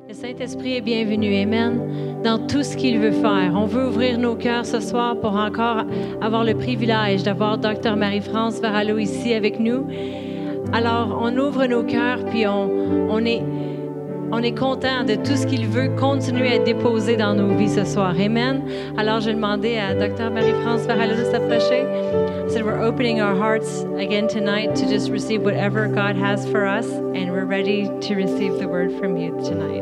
Le Saint-Esprit est bienvenu, Amen, dans tout ce qu'il veut faire. On veut ouvrir nos cœurs ce soir pour encore avoir le privilège d'avoir Dr. Marie-France Varallo ici avec nous. Alors, on ouvre nos cœurs, puis on est content de tout ce qu'il veut continuer à déposer dans nos vies ce soir. Amen. Alors, je vais demander à Dr. Marie-France Varallo de s'approcher. So we're opening our hearts again tonight to just receive whatever God has for us, and we're ready to receive the word from you tonight.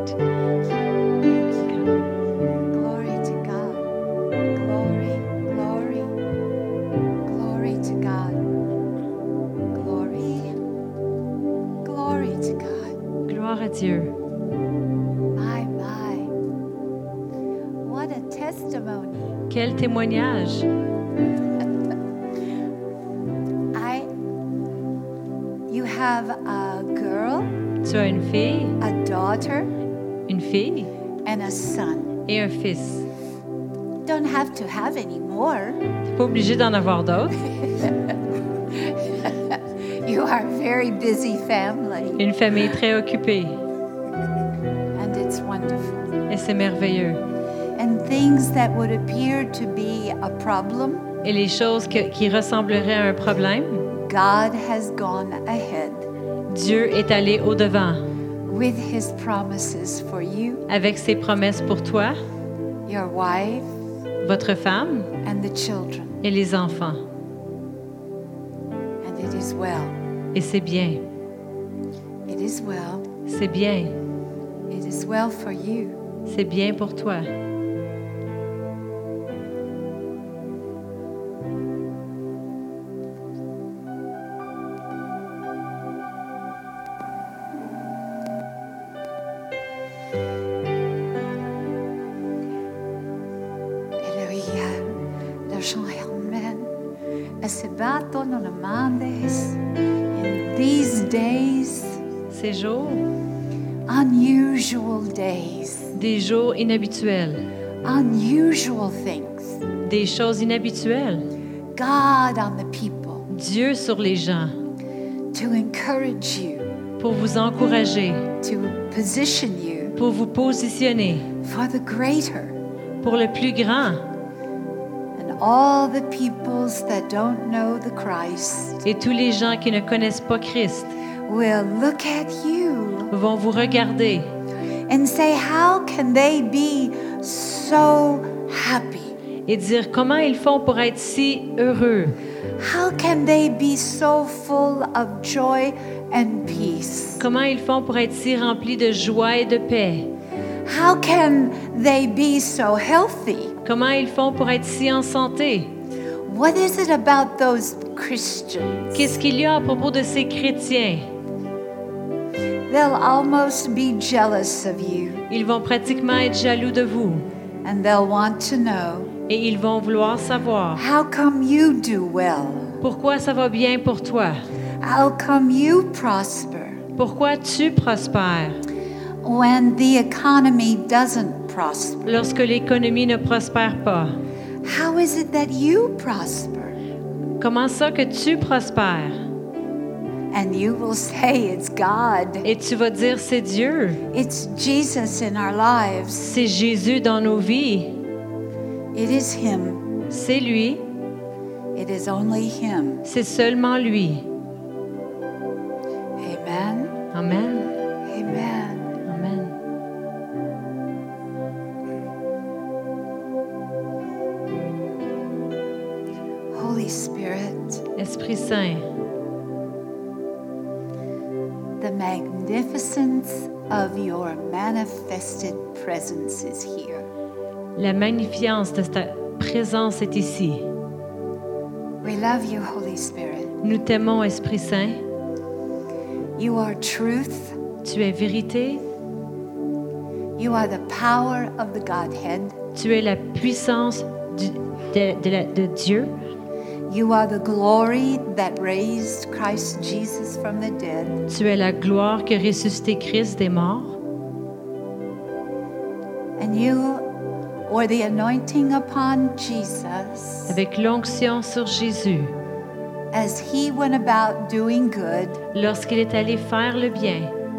Glory to God. Glory, glory, glory to God. Glory, glory to God. Gloire à Dieu. My. What a testimony. Quel témoignage. You have a girl, Tu as une fille, a daughter, une fille and a son. et un fils. Don't have to have any more. Tu n'es pas obligé d'en avoir d'autres. You are a very busy family, Une famille très occupée. and it's wonderful. Et c'est merveilleux. And things that would appear to be a problem, Et les choses qui ressembleraient à un problème, God has gone ahead Dieu est allé au-devant with His promises for you, avec ses promesses pour toi, your wife, votre femme and the children. et les enfants. And it is well. Et c'est bien. It is well. C'est bien. It is well for you. C'est bien pour toi. In these days, Ces jours, unusual days, des jours inhabituels, unusual things, des choses inhabituelles. God on the people, Dieu sur les gens, to encourage you, pour vous encourager, to position you pour vous positionner, for the greater. pour le plus grand. And all the peoples that don't know the Christ Et tous les gens qui ne connaissent pas Christ will look at you vont vous regarder and say, how can they be so happy? et dire comment ils font pour être si heureux. How can they be so full of joy and peace? Comment ils font pour être si remplis de joie et de paix. How can they be so healthy? Comment ils font pour être si en santé. What is it about those Christians? Qu'est-ce qu'il y a à propos de ces chrétiens? They'll almost be jealous of you, Ils vont pratiquement être jaloux de vous and they'll want to know, et ils vont vouloir savoir how come you do well? pourquoi ça va bien pour toi. How come you prosper Pourquoi tu prospères when the economy doesn't prosper? lorsque l'économie ne prospère pas? How is it that you prosper? Comment ça que tu prospères? And you will say it's God. Et tu vas dire c'est Dieu, It's Jesus in our lives. c'est Jésus dans nos vies, It is Him. c'est lui, It is only Him. c'est seulement lui. Amen. Amen. Amen. Amen. Holy Spirit, Esprit Saint, the magnificence of your manifested presence is here. la magnificence de ta présence est ici. We love you, Holy Spirit. Nous t'aimons, Esprit Saint. You are truth. Tu es vérité, You are the power of the Godhead. tu es la puissance de Dieu, You are the glory that raised Christ Jesus from the dead. tu es la gloire qui a ressuscité Christ des morts, And you were the anointing upon Jesus avec l'onction sur Jésus, as He went about doing good lorsqu'il est allé faire le bien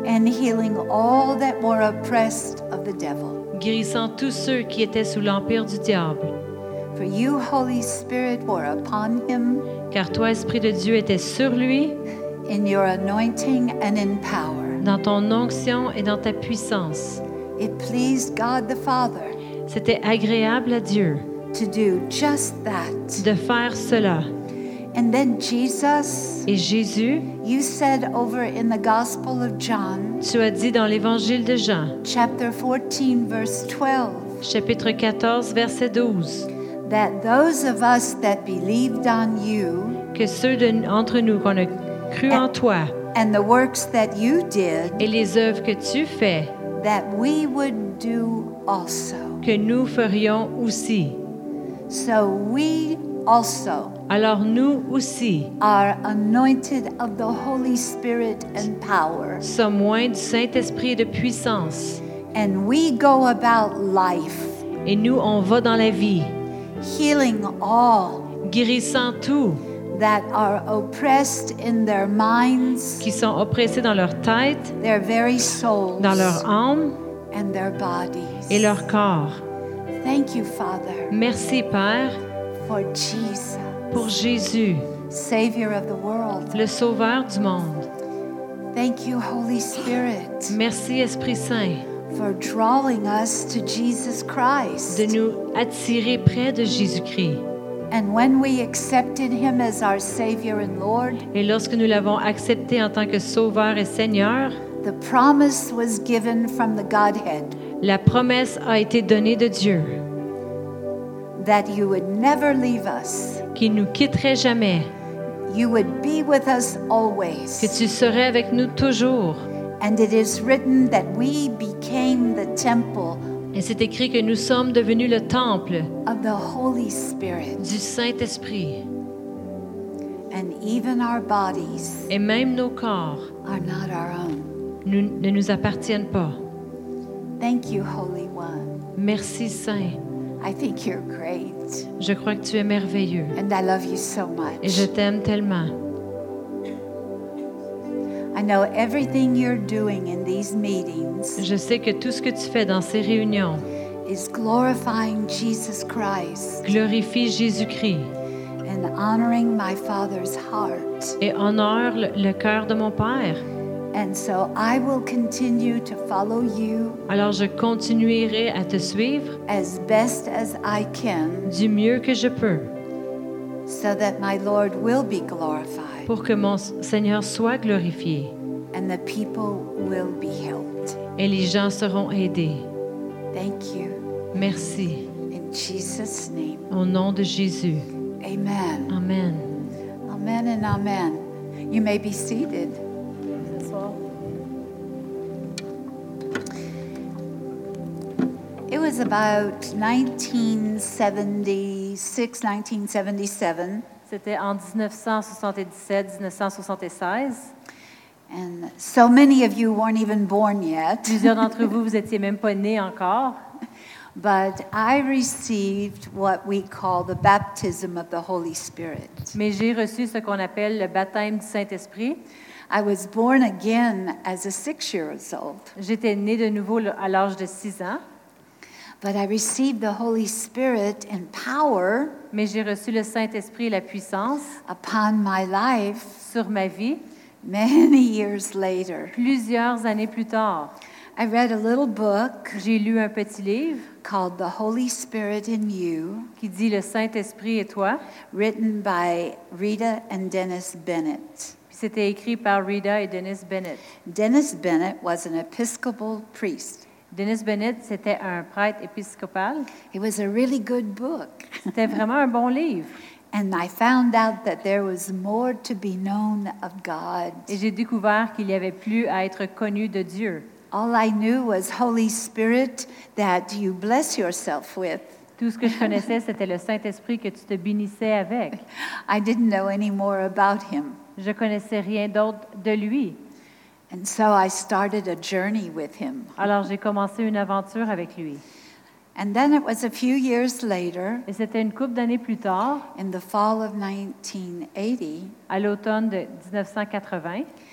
and healing all that were oppressed of the devil. guérissant tous ceux qui étaient sous l'empire du diable. For you, Holy Spirit, were upon him Car toi, Esprit de Dieu, étais sur lui, in your anointing and in power. dans ton onction et dans ta puissance. It pleased God the Father C'était agréable à Dieu to do just that. de faire cela. And then Jesus, Et Jésus, you said over in the Gospel of John, tu as dit dans l'Évangile de Jean, chapter 14, verse 12, chapitre 14, verset 12, that those of us that believed on you que ceux d'entre nous qu'on a cru en toi and the works that you did, et les œuvres que tu fais, that we would do also. que nous ferions aussi. So we also Alors nous aussi are anointed of the Holy Spirit and power. sommes loin du Saint-Esprit et de puissance. And we go about life Et nous, on va dans la vie, healing all guérissant tous that are oppressed in their minds, qui sont oppressés dans leur tête, their very souls, dans leur âme and their bodies. et leur corps. Thank you, Father, Merci, Père, for Jesus, pour Jésus, Savior of the world. le Sauveur du monde. Thank you, Holy Spirit, Merci, Esprit Saint, for drawing us to Jesus Christ. de nous attirer près de Jésus-Christ. And when we accepted Him as our Savior and Lord, Et lorsque nous l'avons accepté en tant que Sauveur et Seigneur, the promise was given from the Godhead la promesse a été donnée de Dieu, that you would never leave us. qu'il ne nous quitterait jamais, You would be with us que always. tu serais avec nous toujours. And it is written that we became the temple Et c'est écrit que nous sommes devenus le temple of the Holy Spirit. du Saint-Esprit. And even our bodies Et même nos corps are not our own. ne nous appartiennent pas. Thank you, Holy One. Merci, Saint. I think you're great. Je crois que tu es merveilleux And I love you so et je much. t'aime tellement. I know everything you're doing in these meetings Je sais que tout ce que tu fais dans ces réunions is glorifying Jesus Christ glorifie Jésus-Christ and honoring my Father's heart. et honore le cœur de mon Père. And so I will continue to follow you Alors je continuerai à te suivre as best as I can du mieux que je peux so that my Lord will be glorified pour que mon Seigneur soit glorifié and the people will be helped. et les gens seront aidés. Thank you. Merci. In Jesus' name, Au nom de Jésus. amen. Amen. Amen and amen. You may be seated. It was about 1976, 1977, C'était en 1977-1976. and so many of you weren't even born yet, Plusieurs d'entre vous, vous étiez même pas nés encore. but I received what we call the baptism of the Holy Spirit. Mais j'ai reçu ce qu'on appelle le baptême du Saint-Esprit. I was born again as a 6-year-old, J'étais née de nouveau à l'âge de 6 ans, but I received the Holy Spirit in power mais j'ai reçu le Saint-Esprit et la puissance upon my life sur ma vie many years later. plusieurs années plus tard. I read a little book J'ai lu un petit livre called The Holy Spirit in You, qui dit Le Saint-Esprit et toi. written by Rita and Dennis Bennett. Puis c'était écrit par Rita et Dennis Bennett. Dennis Bennett was an Episcopal priest. Dennis Bennett, c'était un prêtre épiscopal. It was a really good book. C'était vraiment un bon livre. And I found out that there was more to be known of God. Et j'ai découvert qu'il y avait plus à être connu de Dieu. All I knew was Holy Spirit that you bless yourself with. Tout ce que je connaissais, c'était le Saint-Esprit que tu te bénissais avec. I didn't know any more about him. Je connaissais rien d'autre de lui. And so I started a journey with him. Alors j'ai commencé une aventure avec lui. And then it was a few years later, Et c'était une couple d'années plus tard, in the fall of 1980, à l'automne de 1980,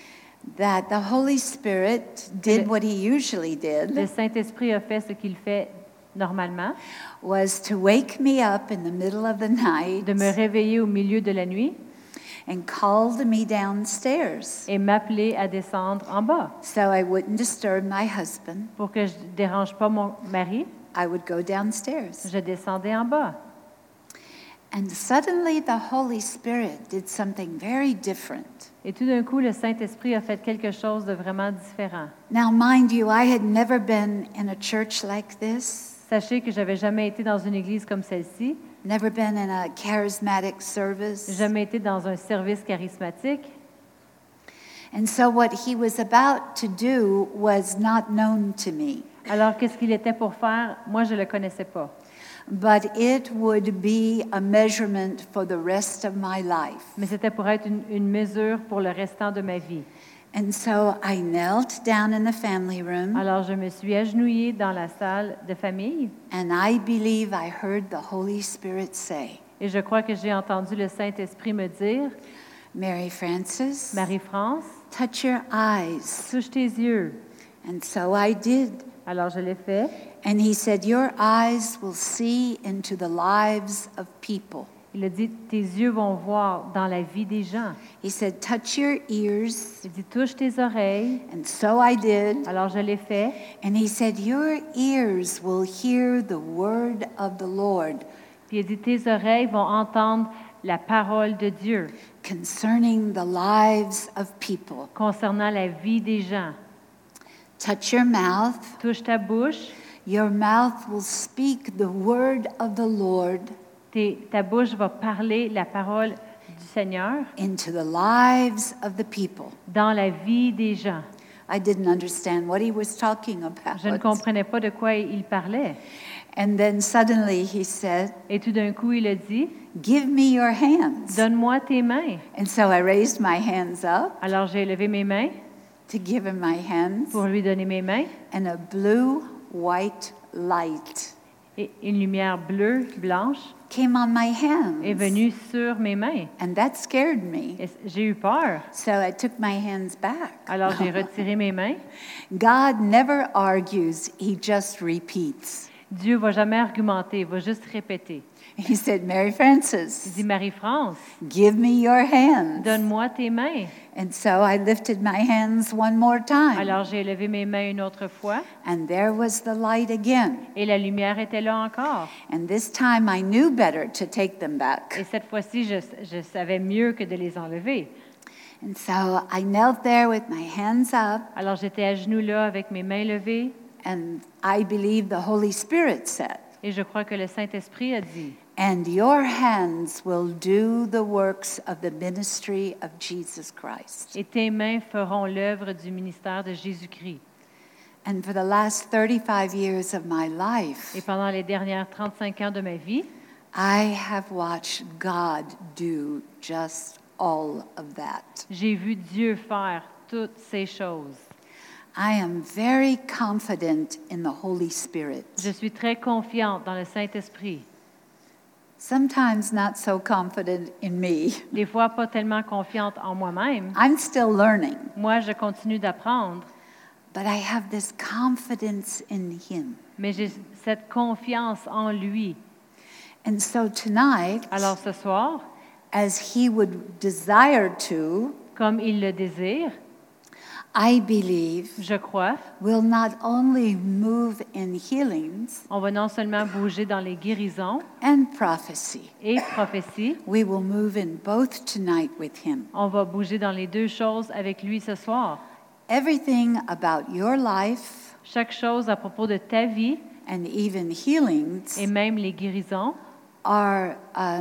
that the Holy Spirit did Le- what he usually Le did, Saint-Esprit a fait ce qu'il fait normalement, was to wake me up in the middle of the night de me réveiller au milieu de la nuit and called me downstairs et m'appeler à descendre en bas so I wouldn't disturb my husband. pour que je ne dérange pas mon mari. I would go downstairs. Je descendais en bas. And suddenly the Holy Spirit did something very different. Et tout d'un coup, le Saint-Esprit a fait quelque chose de vraiment différent. Now, mind you, I had never been in a church like this, Sachez que j'avais jamais été dans une église comme celle-ci, never been in a charismatic service. jamais été dans un service charismatique. And so, what he was about to do was not known to me, Alors, qu'est-ce qu'il était pour faire? Moi, je ne le connaissais pas. but it would be a measurement for the rest of my life. Mais c'était pour être une mesure pour le restant de ma vie. And so, I knelt down in the family room, Alors, je me suis agenouillée dans la salle de famille and I believe I heard the Holy Spirit say, et je crois que j'ai entendu le Saint-Esprit me dire, Mary Frances, Marie-France, touch your eyes. touche tes yeux. And so I did. Alors, je l'ai fait. And he said, your eyes will see into the lives of people. Il a dit, tes yeux vont voir dans la vie des gens. He said, touch your ears. Il dit, touche tes oreilles. And so I did. Alors, je l'ai fait. And he said, your ears will hear the word of the Lord Puis il dit, tes oreilles vont entendre la parole de Dieu concerning the lives of people. concernant la vie des gens. Touch your mouth. Touche ta bouche. Your mouth will speak the word of the Lord Ta bouche va parler la parole du Seigneur into the lives of the people. dans la vie des gens. I didn't understand what he was talking Je ne about. comprenais pas de quoi il parlait. And then suddenly he said, Et tout d'un coup, il a dit, give me your hands. donne-moi tes mains. And so I raised my hands up Alors, j'ai levé mes mains to give him my hands, pour lui donner mes mains. and a blue-white light Et une lumière bleue, blanche, came on my est hands. venue sur mes mains. And that scared me. Et j'ai eu peur. So I took my hands back. Alors, j'ai retiré mes mains. God never argues, he just repeats. Dieu ne va jamais argumenter, il va juste répéter. He said, Mary Il Frances, dit, Marie-France, give me your hands. donne-moi tes mains. And so I lifted my hands one more time. Alors, j'ai levé mes mains une autre fois And there was the light again. et la lumière était là encore. And this time I knew better to take them Et back. cette fois-ci, je savais mieux que de les enlever. And so I knelt there with my hands up, Alors, j'étais à genoux là avec mes mains levées and I believe the Holy Spirit said, et je crois que le Saint-Esprit a dit, and your hands will do the works of the ministry of Jesus Christ. et tes mains feront l'œuvre du ministère de Jésus-Christ. And for the last 35 years of my life, Et pendant les dernières 35 ans de ma vie, I have watched God do just all of that. j'ai vu Dieu faire toutes ces choses. I am very confident in the Holy Spirit. Je suis très confiante dans le Saint-Esprit. Sometimes not so confident in me. Des fois, pas tellement confiante en moi-même. I'm still learning, Moi, je continue d'apprendre, but I have this confidence in Him. mais j'ai cette confiance en lui. And so tonight, Alors ce soir, as He would desire to, comme il le désire, I believe je crois, will not only move in healings on va non seulement bouger dans les guérisons and prophecy, et prophéties, we will move in both tonight with Him. on va bouger dans les deux choses avec lui ce soir. Everything about your life Chaque chose à propos de ta vie and even healings et même les guérisons, are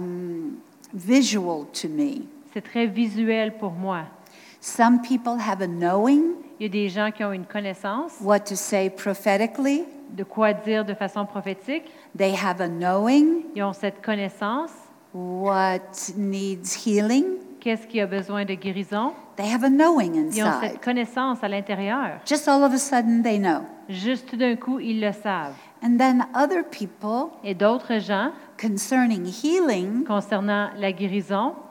visual to me. c'est très visuel pour moi. Some people have a knowing Il y a des gens qui ont une connaissance what to say prophetically. de quoi dire de façon prophétique. They have a knowing Ils ont cette connaissance. what needs healing. Qu'est-ce qui a besoin de guérison? They have a knowing Ils ont inside. cette connaissance à l'intérieur. Just all of a sudden they know. Juste tout d'un coup, ils le savent. And then other people Et d'autres gens, concerning healing concernant la guérison,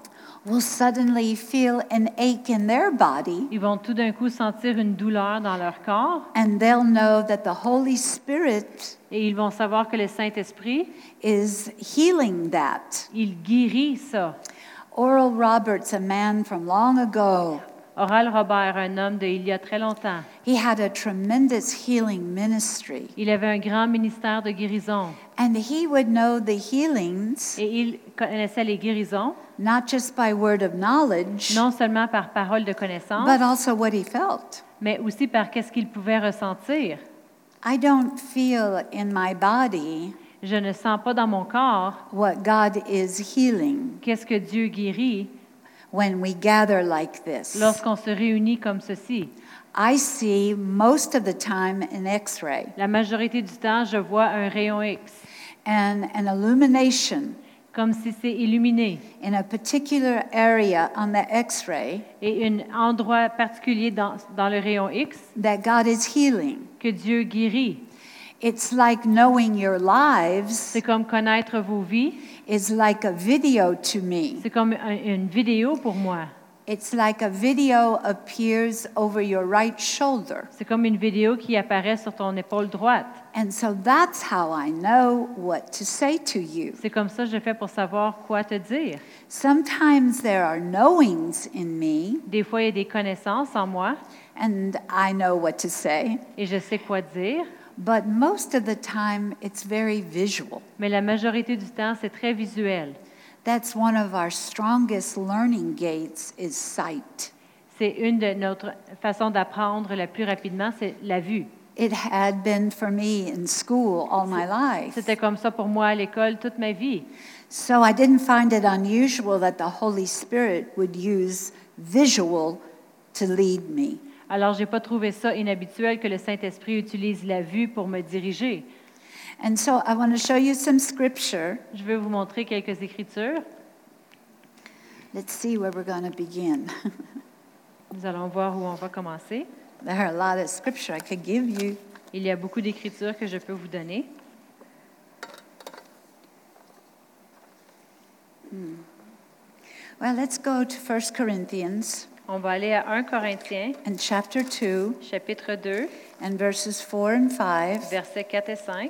will suddenly feel an ache in their body, Ils vont tout d'un coup sentir une douleur dans leur corps and they'll know that the Holy Spirit et ils vont savoir que le Saint-Esprit, is healing that. il guérit ça. Oral Roberts, a man from long ago, Oral Robert, un homme d'il y a très longtemps, he had a tremendous healing ministry. il avait un grand ministère de guérison And he would know the healings, et il connaissait les guérisons, not just by word of knowledge, non seulement par parole de connaissance, but also what he felt. mais aussi par qu'est-ce qu'il pouvait ressentir. I don't feel in my body Je ne sens pas dans mon corps what God is healing qu'est-ce que Dieu guérit when we gather like this. lorsqu'on se réunit comme ceci. I see most of the time an X-ray La majorité du temps, je vois un rayon X, and an illumination comme si c'est illuminé, in a particular area on the X-ray et un endroit particulier dans le rayon X that God is healing. que Dieu guérit. It's like knowing your lives C'est comme connaître vos vies, is like a video to me. c'est comme une vidéo pour moi. It's like a video appears over your right shoulder. C'est comme une vidéo qui apparaît sur ton épaule droite. And so that's how I know what to say to you. C'est comme ça que je fais pour savoir quoi te dire. Sometimes there are knowings in me, Des fois, il y a des connaissances en moi and I know what to say, et je sais quoi dire, but most of the time it's very visual. mais la majorité du temps, c'est très visuel. That's one of our strongest learning gates is sight. C'est une de notre façon d'apprendre la plus rapidement, c'est la vue. It had been for me in school all my life. C'était comme ça pour moi à l'école toute ma vie. So I didn't find it unusual that the Holy Spirit would use visual to lead me. Alors, j'ai pas trouvé ça inhabituel que le Saint-Esprit utilise la vue pour me diriger. And so I want to show you some scripture. Je vais vous montrer quelques écritures. Let's see where we're going to begin. Nous allons voir où on va commencer. There are a lot of scripture I could give you. Il y a beaucoup d'écritures que je peux vous donner. Well, let's go to 1 Corinthians On va aller à 1 Corinthiens, and chapter 2 chapitre 2, and verses 4 and 5. versets 4 et 5.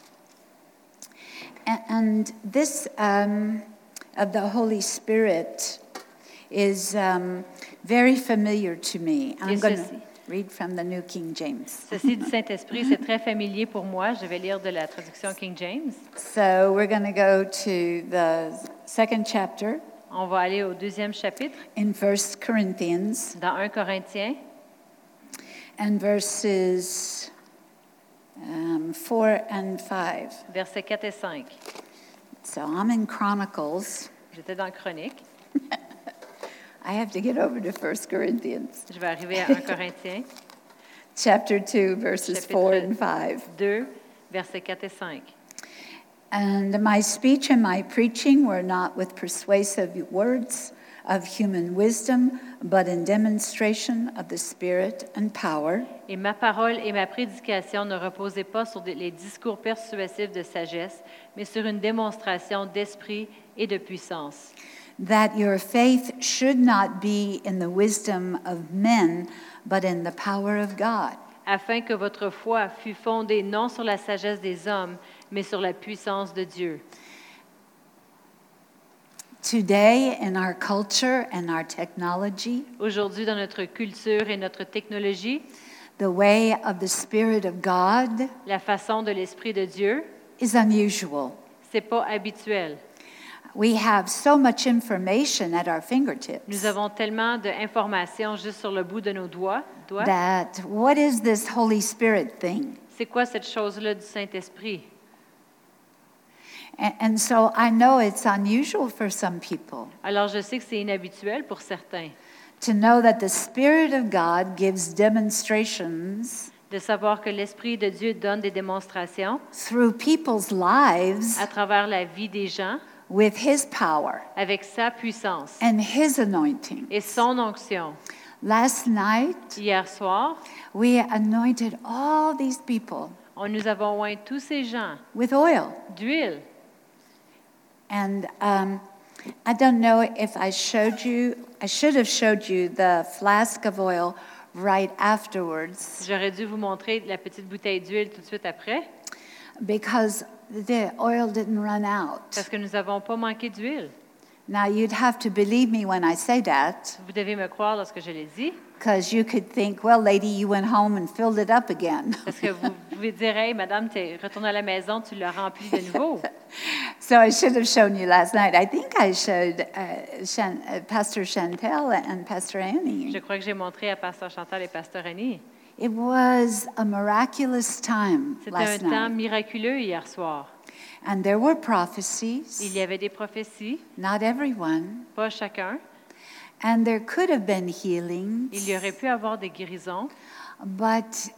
And this of the Holy Spirit is very familiar to me. I'm Et going to ceci. read from the New King James. Ceci du Saint-Esprit, c'est très familier pour moi. Je vais lire de la traduction King James. So we're going to go to the second chapter On va aller au deuxième chapitre, in 1 Corinthians dans 1 Corinthiens, and verses 4 and 5. versets 4 et 5. So I'm in Chronicles. J'étais dans Chronique. I have to get over to 1 Corinthians, Je vais arriver à 1 Corinthiens, chapter 2, verses 4 and 5. 2, versets 4 et 5. And my speech and my preaching were not with persuasive words of human wisdom, but in demonstration of the Spirit and power, Et ma parole et ma prédication ne reposaient pas sur les discours persuasifs de sagesse, mais sur une démonstration d'esprit et de puissance. that your faith should not be in the wisdom of men, but in the power of God. Afin que votre foi fût fondée non sur la sagesse des hommes, mais sur la puissance de Dieu. Today, in our culture and our technology, Aujourd'hui, dans notre culture et notre technologie, the way of the Spirit of God la façon de l'Esprit de Dieu, is unusual. c'est pas habituel. We have so much information at our fingertips Nous avons tellement d'informations juste sur le bout de nos doigts. that what is this Holy Spirit thing? C'est quoi cette chose-là du Saint-Esprit? And so I know it's unusual for some people Alors, je sais que c'est inhabituel pour certains to know that the Spirit of God gives demonstrations de savoir que l'Esprit de Dieu donne des démonstrations through people's lives à travers la vie des gens with His power avec sa puissance and His anointing. et son onction. Last night, Hier soir, we anointed all these people nous avons oint tous ces gens with oil. d'huile. And I don't know if I should have showed you the flask of oil right afterwards J'aurais dû vous montrer la petite bouteille d'huile tout de suite après, because the oil didn't run out. parce que nous n'avons pas manqué d'huile. Now, you'd have to believe me when I say that, Vous devez me croire lorsque je l'ai dit, because you could think, well, lady, you went home and filled it up again. parce que vous pouvez dire, hey, madame, tu es retournée à la maison, tu l'as rempli de nouveau. So I should have shown you last night. I think I showed Pastor Chantel and Pastor Annie. Je crois que j'ai montré à Pasteur Chantal et Pasteur Annie. It was a miraculous time C'était un last temps night. miraculeux hier soir. And there were Il prophecies, y avait des prophéties, not everyone. pas chacun. And there could have been healings, Il y aurait pu avoir des guérisons, but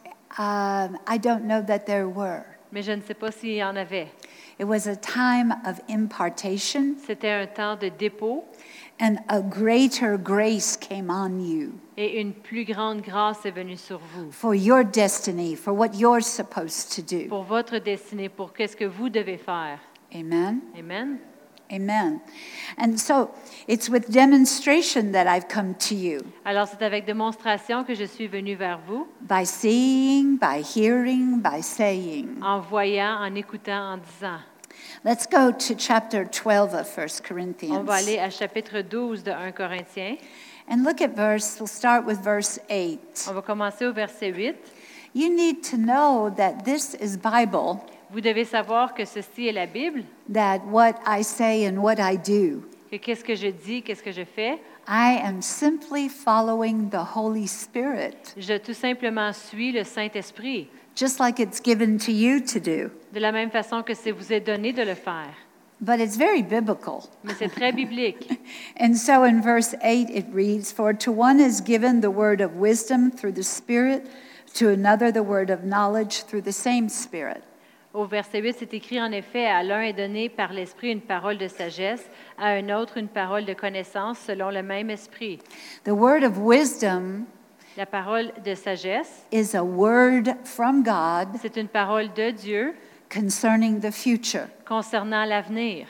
I don't know that there were. mais je ne sais pas s'il y en avait. It was a time of impartation, C'était un temps de dépôt and a greater grace came on you et une plus grande grâce est venue sur vous for your destiny, for what you're supposed to do. pour votre destinée, pour qu'est-ce que vous devez faire. Amen. Amen. Amen. And so it's with demonstration that I've come to you, Alors, c'est avec démonstration que je suis venue vers vous, by seeing, by hearing, by saying. en voyant, en écoutant, en disant. Let's go to chapter 12 of 1 On Corinthians. va aller à chapitre 12 de 1 Corinthiens. And look at we'll start with verse 8. On va commencer au verset 8. You need to know that this is Bible, Vous devez savoir que ceci est la Bible, that what I say and what I do, que qu'est-ce que je dis, qu'est-ce que je fais. I am simply following the Holy Spirit, Je tout simplement suis le Saint-Esprit, just like it's given to you to do. de la même façon que c'est vous est donné de le faire. But it's very biblical. Mais c'est très biblique. And so in verse 8 it reads, For to one is given the word of wisdom through the Spirit, to another the word of knowledge through the same Spirit. Au verset 8, c'est écrit en effet, à l'un est donné par l'Esprit une parole de sagesse, à un autre une parole de connaissance selon le même Esprit. The word of wisdom La parole de sagesse, is a word from God c'est une parole de Dieu concerning the future. concernant l'avenir.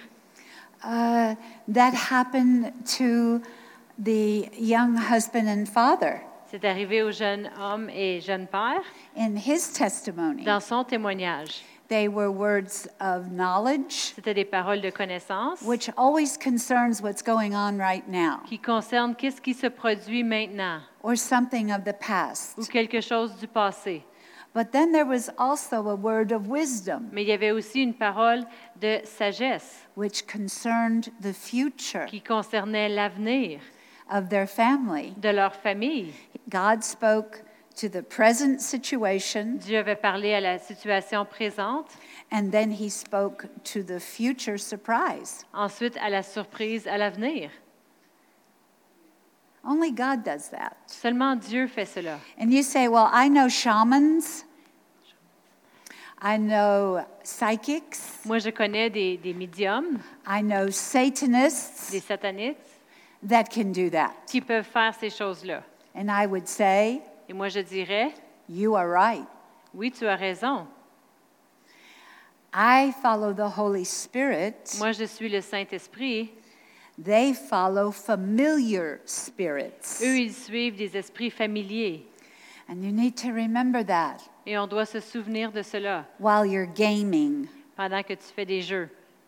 That happened to the young husband and father C'est arrivé au jeune homme et jeune père in his testimony. dans son témoignage. They were words of knowledge, C'était des paroles de connaissance which always concerns what's going on right now, qui concernent qu'est-ce qui se produit maintenant or something of the ou past. quelque chose du passé. But then there was also a word of wisdom, Mais il y avait aussi une parole de sagesse which concerned the future qui concernait l'avenir of their family. de leur famille. God spoke to the present situation, Dieu avait parlé à la situation présente, and then he spoke to the future surprise. ensuite à la surprise à l'avenir. Only God does that. Seulement Dieu fait cela. And you say, well, I know shamans, I know psychics, Moi, je connais des médiums, I know Satanists des satanistes, that can do that. qui peuvent faire ces choses-là. And I would say, Et moi, je dirais, you are right. oui, tu as raison. I follow the Holy Spirit. Moi, je suis le Saint-Esprit. They follow familiar spirits. Eux, ils suivent des esprits familiers. And you need to remember that Et on doit se souvenir de cela while you're gaming. pendant que tu fais des jeux.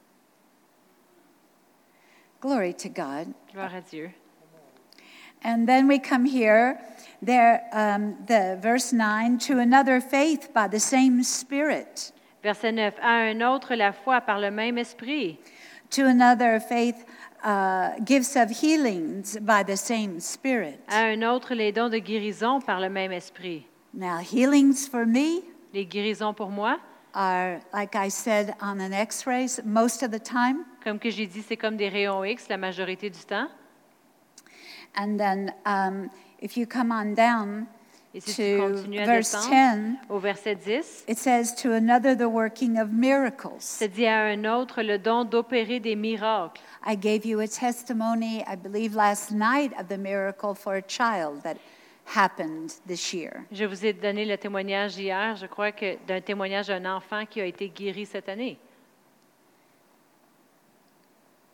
Glory to God. Gloire à Dieu. And then we come here, there, the verse 9, to another faith by the same Spirit. Verset 9. À un autre, la foi par le même esprit. To another faith, gifts of healings by the same Spirit. À un autre, les dons de guérison par le même esprit. Now, healings for me Les guérisons pour moi, are, like I said, on an x-ray most of the time. comme que j'ai dit, c'est comme des rayons X la majorité du temps. And then if you come on down Et si tu to continues à verse descendre 10, au verset 10, it says, to another the working of miracles. c'est dit à un autre le don d'opérer des miracles. I gave you a testimony, I believe, last night of the miracle for a child that happened this year. Je vous ai donné le témoignage hier, je crois que d'un témoignage d'un enfant qui a été guéri cette année.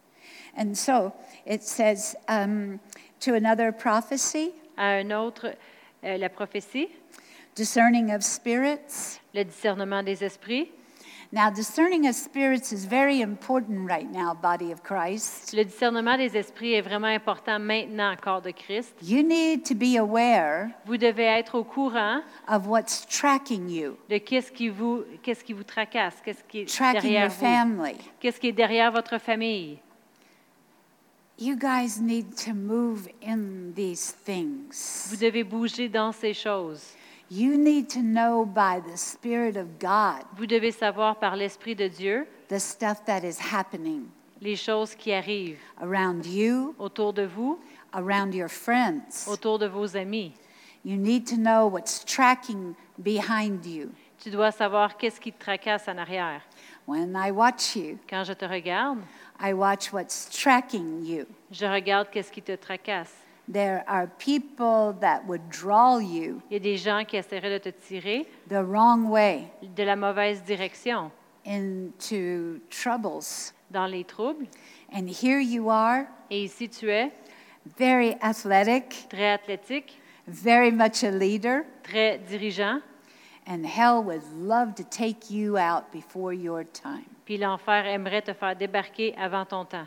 And so it says to another prophecy, À un autre, la prophétie, discerning of spirits. le discernement des esprits. Now, discerning of spirits is very important right now, body of Christ. Le discernement des esprits est vraiment important maintenant, corps de Christ. You need to be aware Vous devez être au courant of what's tracking you, de qu'est-ce qui vous tracasse, qu'est-ce qui est tracking derrière your vous, family. qu'est-ce qui est derrière votre famille. You guys need to move in these things. Vous devez bouger dans ces choses. You need to know by the Spirit of God Vous devez savoir par l'Esprit de Dieu the stuff that is happening les choses qui arrivent around you, autour de vous, around your friends. autour de vos amis. You need to know what's tracking behind you. Tu dois savoir qu'est-ce qui te tracasse en arrière. When I watch you, Quand je te regarde, I watch what's tracking you. je regarde qu'est-ce qui te tracasse. There are people that would draw you Il y a des gens qui essaieraient de te tirer the wrong way de la mauvaise direction, into troubles. dans les troubles. And here you are, Et ici, tu es very athletic, très athlétique, very much a leader, très dirigeant, and hell would love to take you out before your time. puis l'enfer aimerait te faire débarquer avant ton temps.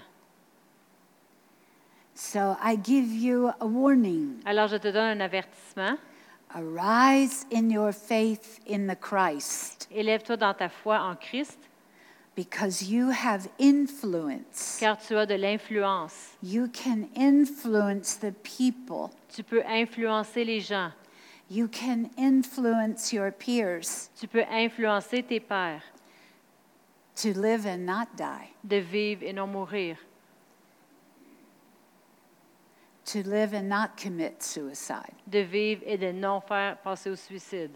So I give you a warning. Alors, je te donne un avertissement. Arise in your faith in the Christ, Élève-toi dans ta foi en Christ, because you have influence. car tu as de l'influence. You can influence the people. Tu peux influencer les gens. You can influence your peers Tu peux influencer tes pairs to live and not die, de vivre et non mourir, to live and not commit suicide. de vivre et de non faire passer au suicide.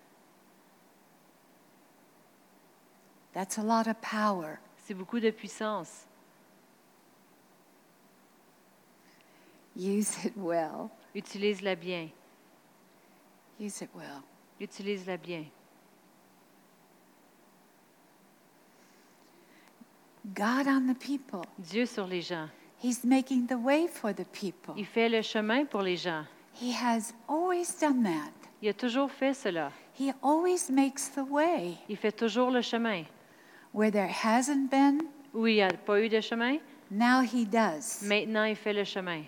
That's a lot of power. C'est beaucoup de puissance. Use it well. Utilise-la bien. Use it well. Utilise-la bien. God on the people. Dieu sur les gens. He's making the way for the people. Il fait le chemin pour les gens. He has always done that. Il a toujours fait cela. He always makes the way. Il fait toujours le chemin. Where there hasn't been, Où il n'y a pas eu de chemin, now he does. maintenant il fait le chemin.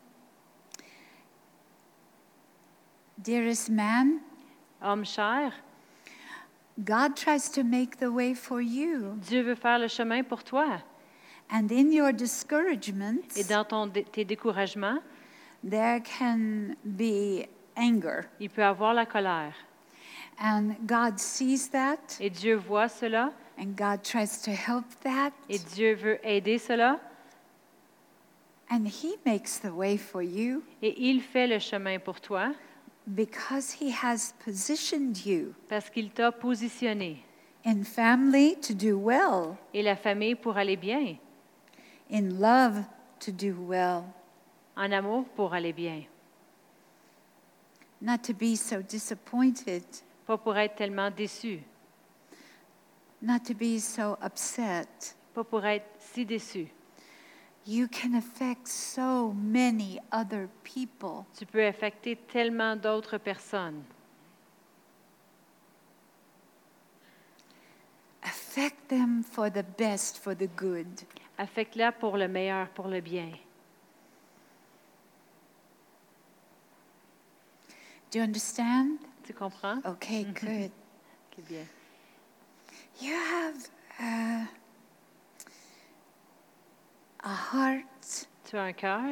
Dearest man, Homme cher, God tries to make the way for you. Dieu veut faire le chemin pour toi. And in your discouragements, Et dans tes découragements, there can be anger. il peut avoir la colère. And God sees that, Et Dieu voit cela, and God tries to help that, et Dieu veut aider cela, and He makes the way for you et il fait le chemin pour toi because He has positioned you parce qu'il t'a positionné. in family to do well, Et la famille pour aller bien, in love to do well, en amour pour aller bien. not to be so disappointed, Pas pour être tellement déçu, not to be so upset. pas pour être si déçu. You can affect so many other people. Tu peux affecter tellement d'autres personnes. Affect them for the best, for the good. Affecte-la pour le meilleur, pour le bien. Do you understand? Tu comprends? Okay, good. C'est bien. You have a heart. Tu as un cœur.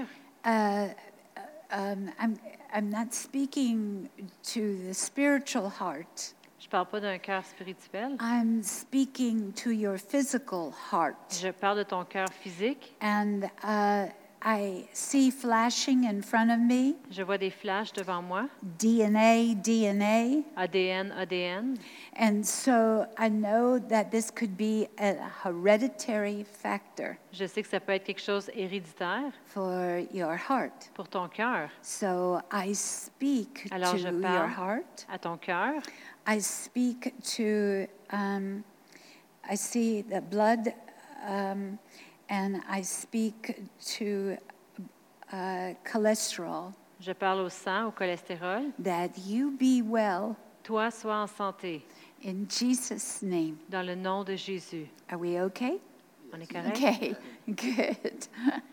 I'm not speaking to the spiritual heart. Je ne parle pas d'un cœur spirituel. I'm speaking to your physical heart. Je parle de ton cœur physique. And I see flashing in front of me, Je vois des flashs devant moi. DNA. ADN, ADN. And so I know that this could be a hereditary factor Je sais que ça peut être quelque chose héréditaire for your heart. pour ton cœur. So I speak Alors to je your parle heart. à ton cœur. I speak to, I see the blood and I speak to cholesterol, Je parle au sang, au cholestérol. that you be well Toi, sois en santé, in Jesus' name. dans le nom de Jésus. Are we okay? On est correct? Okay, good.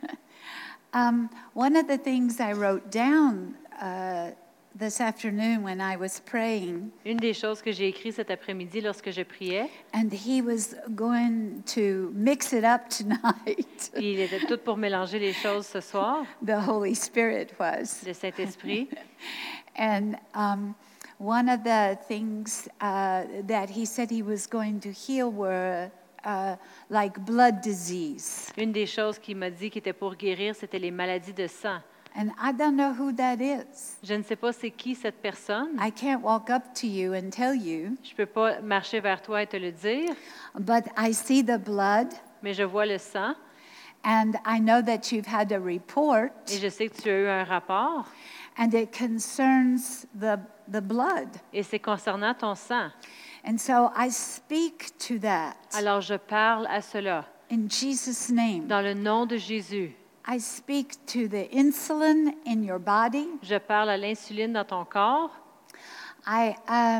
One of the things I wrote down this afternoon when I was praying, Une des choses que j'ai écrites cet après-midi lorsque je priais, and he was going to mix it up tonight. puis il était tout pour mélanger les choses ce soir, The Holy Spirit was. le Saint-Esprit. And one of the things that he said he was going to heal were like blood disease. Une des choses qu'il m'a dit qui était pour guérir, c'était les maladies de sang. And I don't know who that is. Je ne sais pas c'est qui cette personne. I can't walk up to you and tell you, Je ne peux pas marcher vers toi et te le dire, but I see the blood, mais je vois le sang and I know that you've had a report, et je sais que tu as eu un rapport and it concerns the blood. et c'est concernant ton sang. And so I speak to that Alors je parle à cela in Jesus' name. dans le nom de Jésus. I speak to the insulin in your body. Je parle à l'insuline dans ton corps. I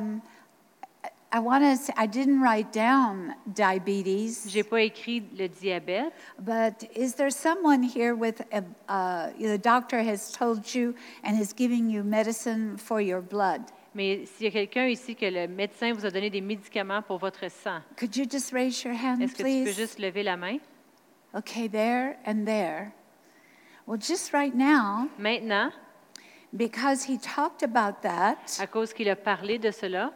want to say, I didn't write down diabetes, J'ai pas écrit le diabète, but is there someone here with the doctor has told you and is giving you medicine for your blood? mais s'il y a quelqu'un ici que le médecin vous a donné des médicaments pour votre sang, Could you just raise your hand, est-ce que tu peux please? juste lever la main? Okay, there and there. Well, just right now, Maintenant, because he talked about that à cause qu'il a parlé de cela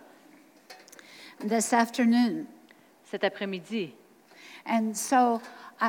this afternoon. cet après-midi, And so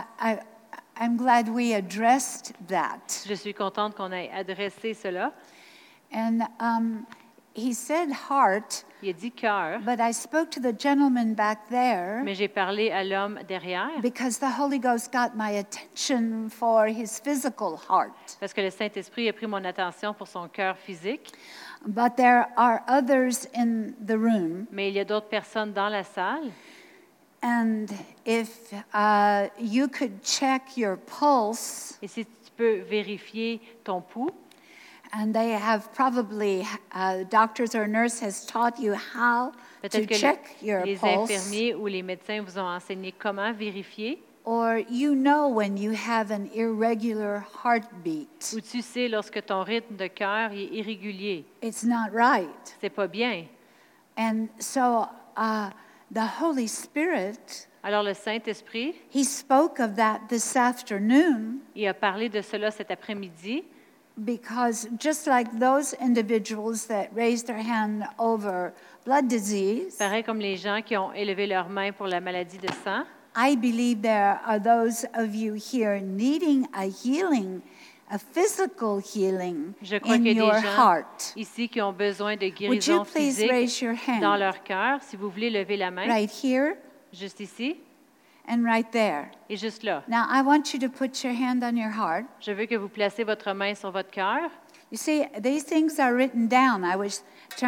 I'm glad we addressed that. je suis contente qu'on ait adressé cela. And he said heart, Il a dit cœur, but I spoke to the gentleman back there mais j'ai parlé à l'homme derrière because the Holy Ghost got my attention for his physical heart. parce que le Saint-Esprit a pris mon attention pour son cœur physique, But there are others in the room. mais il y a d'autres personnes dans la salle. And if you could check your pulse, Et si tu peux vérifier ton pouls, and they have probably, doctors or nurse has taught you how to peut-être que check your les pulse. infirmiers ou les médecins vous ont enseigné comment vérifier, Or you know when you have an irregular heartbeat. ou tu sais lorsque ton rythme de cœur est irrégulier. It's not right. C'est pas bien. And so the Holy Spirit, Alors le Saint-Esprit, he spoke of that this afternoon il a parlé de cela cet après-midi, because just like those individuals that raised their hand over blood disease, pareil comme les gens qui ont élevé leurs mains pour la maladie de sang. I believe there are those of you here needing a healing, a physical healing Je crois in qu'il y a your des gens heart. ici qui ont besoin de Would you guérison please physique raise your dans hand leur cœur. Si vous voulez lever la main, right here juste ici and right there? et juste là. Now, I want you to put your hand on your heart. Je veux que vous placez votre main sur votre cœur. You see, these things are written down. I was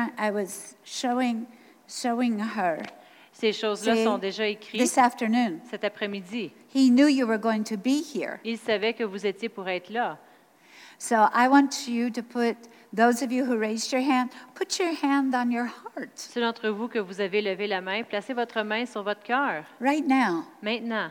showing her Ces choses-là See, sont déjà écrites this afternoon. cet après-midi. He knew you were going to be here. Il savait que vous étiez pour être là. So I want you to put, those of you who raised your hand, put your hand on your heart Ceux d'entre vous que vous avez levé la main, placez votre main sur votre cœur. right now Maintenant,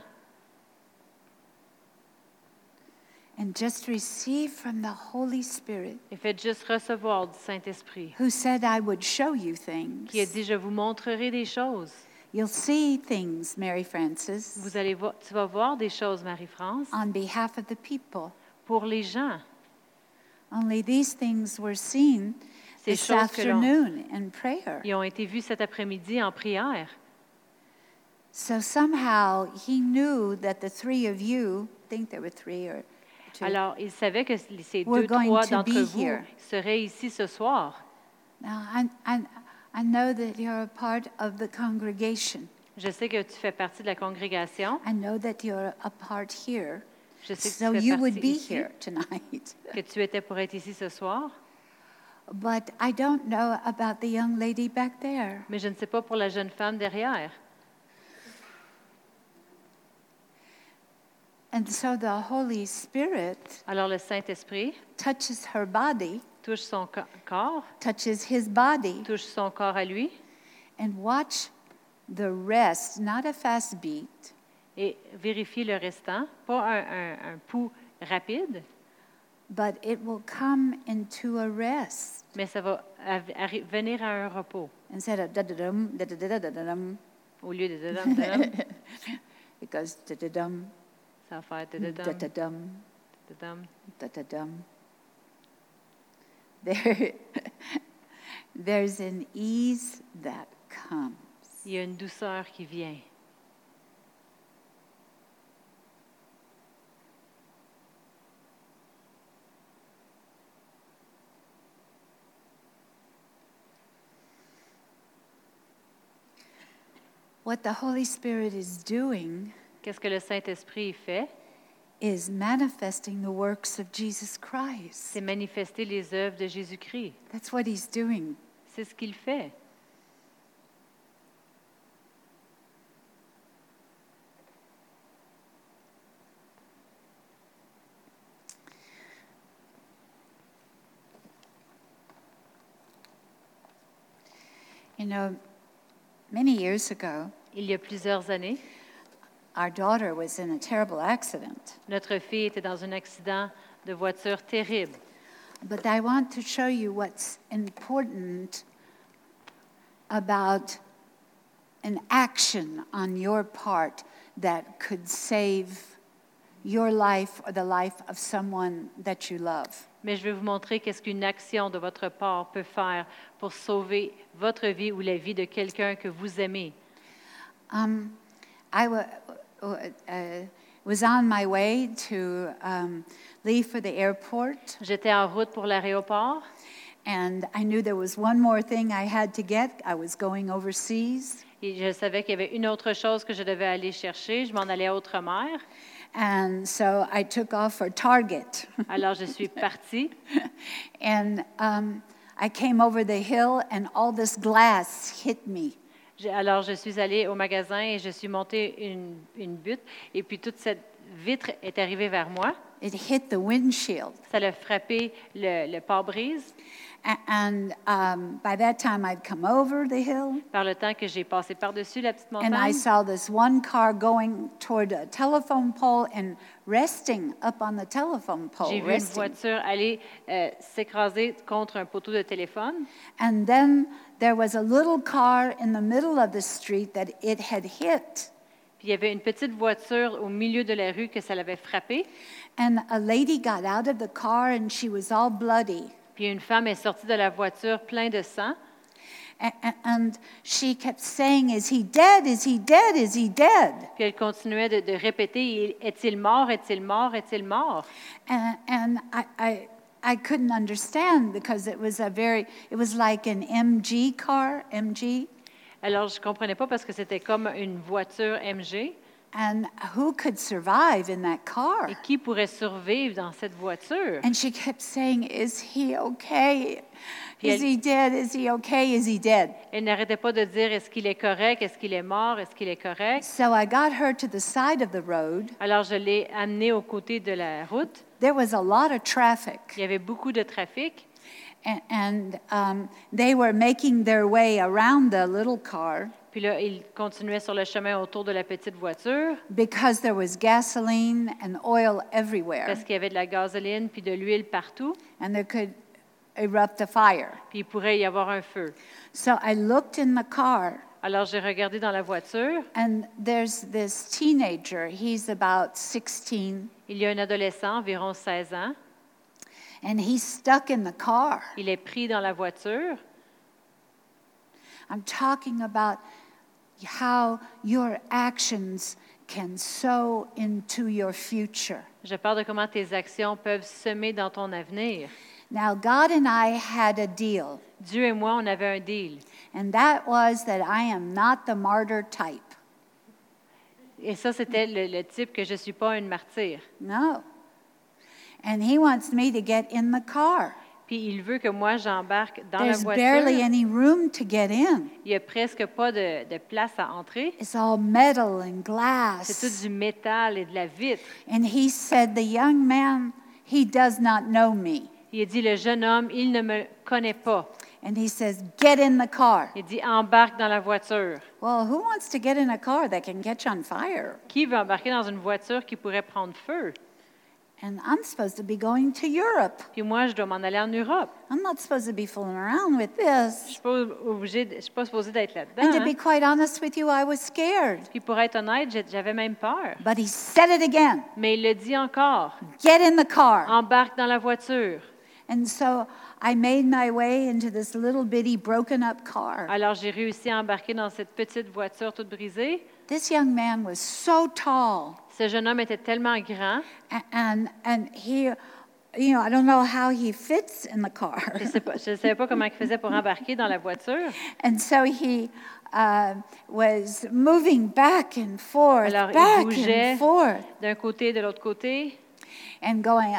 and just receive from the Holy Spirit et faites juste recevoir du Saint-Esprit, who said I would show you things. qui a dit, je vous montrerai des choses. You'll see things, Mary Frances, Vous allez voir, tu vas voir des choses, Marie-France, on behalf of the people. pour les gens. Only these things were seen Ces this choses que l'on- afternoon in prayer. Ils ont été vus cet après-midi en prière. So somehow he knew that the three of you, I think there were three or two. Alors, il savait que ces We're deux, going trois to d'entre be vous here. seraient ici ce soir. Now, I know that you're a part of the congregation. Je sais que tu fais partie de la congrégation. I know that you're a part here. Je sais que So tu fais you would partie be ici, here tonight. que tu étais pour être ici ce soir. But I don't know about the young lady back there. Mais je ne sais pas pour la jeune femme derrière. And so the Holy Spirit Alors le Saint-Esprit touches her body, touche son corps, touches his body, touche son corps à lui and watch the rest, not a fast beat, et vérifie le restant. Pas un pouls rapide, but it will come into a rest. mais ça va venir à un repos. Instead of da-da-dum, da-da-da-da-da-dum, Au lieu de dadam, dadam, it goes da-da-dum, ça va faire dadadam, da-da-dum, dadam. da-da-dum. There's an ease that comes. Il y a une douceur qui vient. What the Holy Spirit is doing Qu'est-ce que le Saint-Esprit fait? is manifesting the works of Jesus Christ. C'est manifester les œuvres de Jésus-Christ. That's what he's doing. C'est ce qu'il fait. You know, many years ago, Il y a plusieurs années, our daughter was in a terrible accident. notre fille était dans un accident de voiture terrible. But I want to show you what's important about an action on your part that could save your life or the life of someone that you love. Mais je vais vous montrer qu'est-ce qu'une action de votre part peut faire pour sauver votre vie ou la vie de quelqu'un que vous aimez. I was on my way to leave for the airport, J'étais en route pour l'aéroport and I knew there was one more thing I had to get. I was going overseas. et je savais qu'il y avait une autre chose que je devais aller chercher. Je m'en allais à Outre-mer. And so I took off for Target. Alors, je suis partie. And I came over the hill, and all this glass hit me. Alors, je suis allée au magasin et je suis montée une butte. Et puis, toute cette vitre est arrivée vers moi. It hit the windshield. Ça a frappé le pare-brise. And by that time, I'd come over the hill, Par le temps que j'ai passé par-dessus la petite and I montagne, saw this one car going toward a telephone pole and resting up on the telephone pole. j'ai vu une voiture aller s'écraser contre un poteau de téléphone. And then there was a little car in the middle of the street that it had hit. Puis il y avait une petite voiture au milieu de la rue que ça l'avait frappée. And a lady got out of the car, and she was all bloody. Puis une femme est sortie de la voiture plein de sang. And she kept saying, "Is he dead? Is he dead? Is he dead?" Puis elle continuait de répéter, est-il mort, est-il mort, est-il mort? And I couldn't understand because it was like an MG car, MG. Alors je comprenais pas parce que c'était comme une voiture MG. And who could survive in that car? Et qui pourrait survivre dans cette voiture? And she kept saying, "Is he okay? Puis Is he dead? Is he okay? Is he dead?" Elle n'arrêtait pas de dire, est-ce qu'il est correct, est-ce qu'il est mort, est-ce qu'il est correct? So I got her to the side of the road. Alors je l'ai amenée aux côtés de la route. There was a lot of traffic. Il y avait beaucoup de trafic. And they were making their way around the little car Puis là, ils continuaient sur le chemin autour de la petite voiture because there was gasoline and oil everywhere, parce qu'il y avait de la gasoline puis de l'huile partout. and there could erupt a fire. Puis il pourrait y avoir un feu. So I looked in the car, Alors j'ai regardé dans la voiture. and there's this teenager. He's about 16, Il y a un adolescent, environ 16 ans. and he's stuck in the car. Il est pris dans la voiture. I'm talking about how your actions can sow into your future. Je parle de comment tes actions peuvent semer dans ton avenir. Now, God and I had a deal, Dieu et moi, on avait un deal. and that was that I am not the martyr type. Et ça, c'était le type que je ne suis pas une martyre. No. And he wants me to get in the car. Puis il veut que moi, j'embarque dans la There's voiture. barely any room to get in. Il n'y a presque pas de place à entrer. It's all metal and C'est glass. tout du métal et de la vitre. And he said, the young man, he does not know me. Il a dit, le jeune homme, il ne me connaît pas. And he says, get in the car. Il dit, embarque dans la voiture. Well, who wants to get in a car that can catch on fire? Qui veut embarquer dans une voiture qui pourrait prendre feu? And I'm supposed to be going to Europe. Puis moi, je dois m'en aller en Europe. I'm not supposed to be fooling around with Je this. ne suis pas supposée d'être là-dedans. And to hein. be quite honest with you, I was scared. Puis pour être honnête, j'avais même peur. But he said it again. Mais il le dit encore. Get in the car. Embarque dans la voiture. And so I made my way into this little bitty broken up car. Alors j'ai réussi à embarquer dans cette petite voiture toute brisée. This young man was so tall. Ce jeune homme était tellement grand. And he, you know, I don't know how he fits in the car. Je ne savais pas comment il faisait pour embarquer dans la voiture. And so he was moving back and forth, Alors, il back bougeait and forth, d'un côté et de l'autre côté, and going,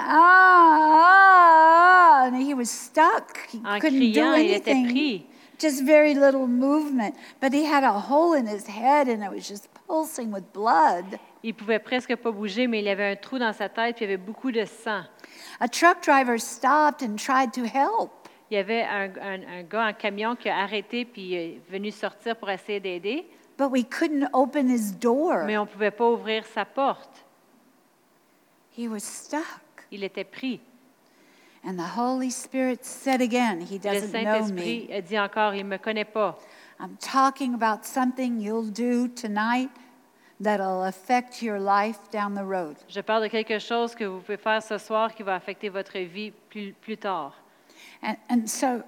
ah, and he was stuck. He en couldn't do criant, il était anything. pris. Just very little movement. But he had a hole in his head, and it was just pulsing with blood. Il pouvait presque pas bouger, mais il avait un trou dans sa tête, puis il y avait beaucoup de sang. A truck driver stopped and tried to help. Il y avait un gars en camion qui a arrêté puis est venu sortir pour essayer d'aider, But we couldn't open his door. mais on ne pouvait pas ouvrir sa porte. He was stuck. Il était pris. And the Holy Spirit said again, he Le doesn't know Saint-Esprit me. a dit encore, il ne me connaît pas. I'm talking about something you'll do tonight that'll affect your life down the road. Je parle de quelque chose que vous pouvez faire ce soir qui va affecter votre vie plus tard. And so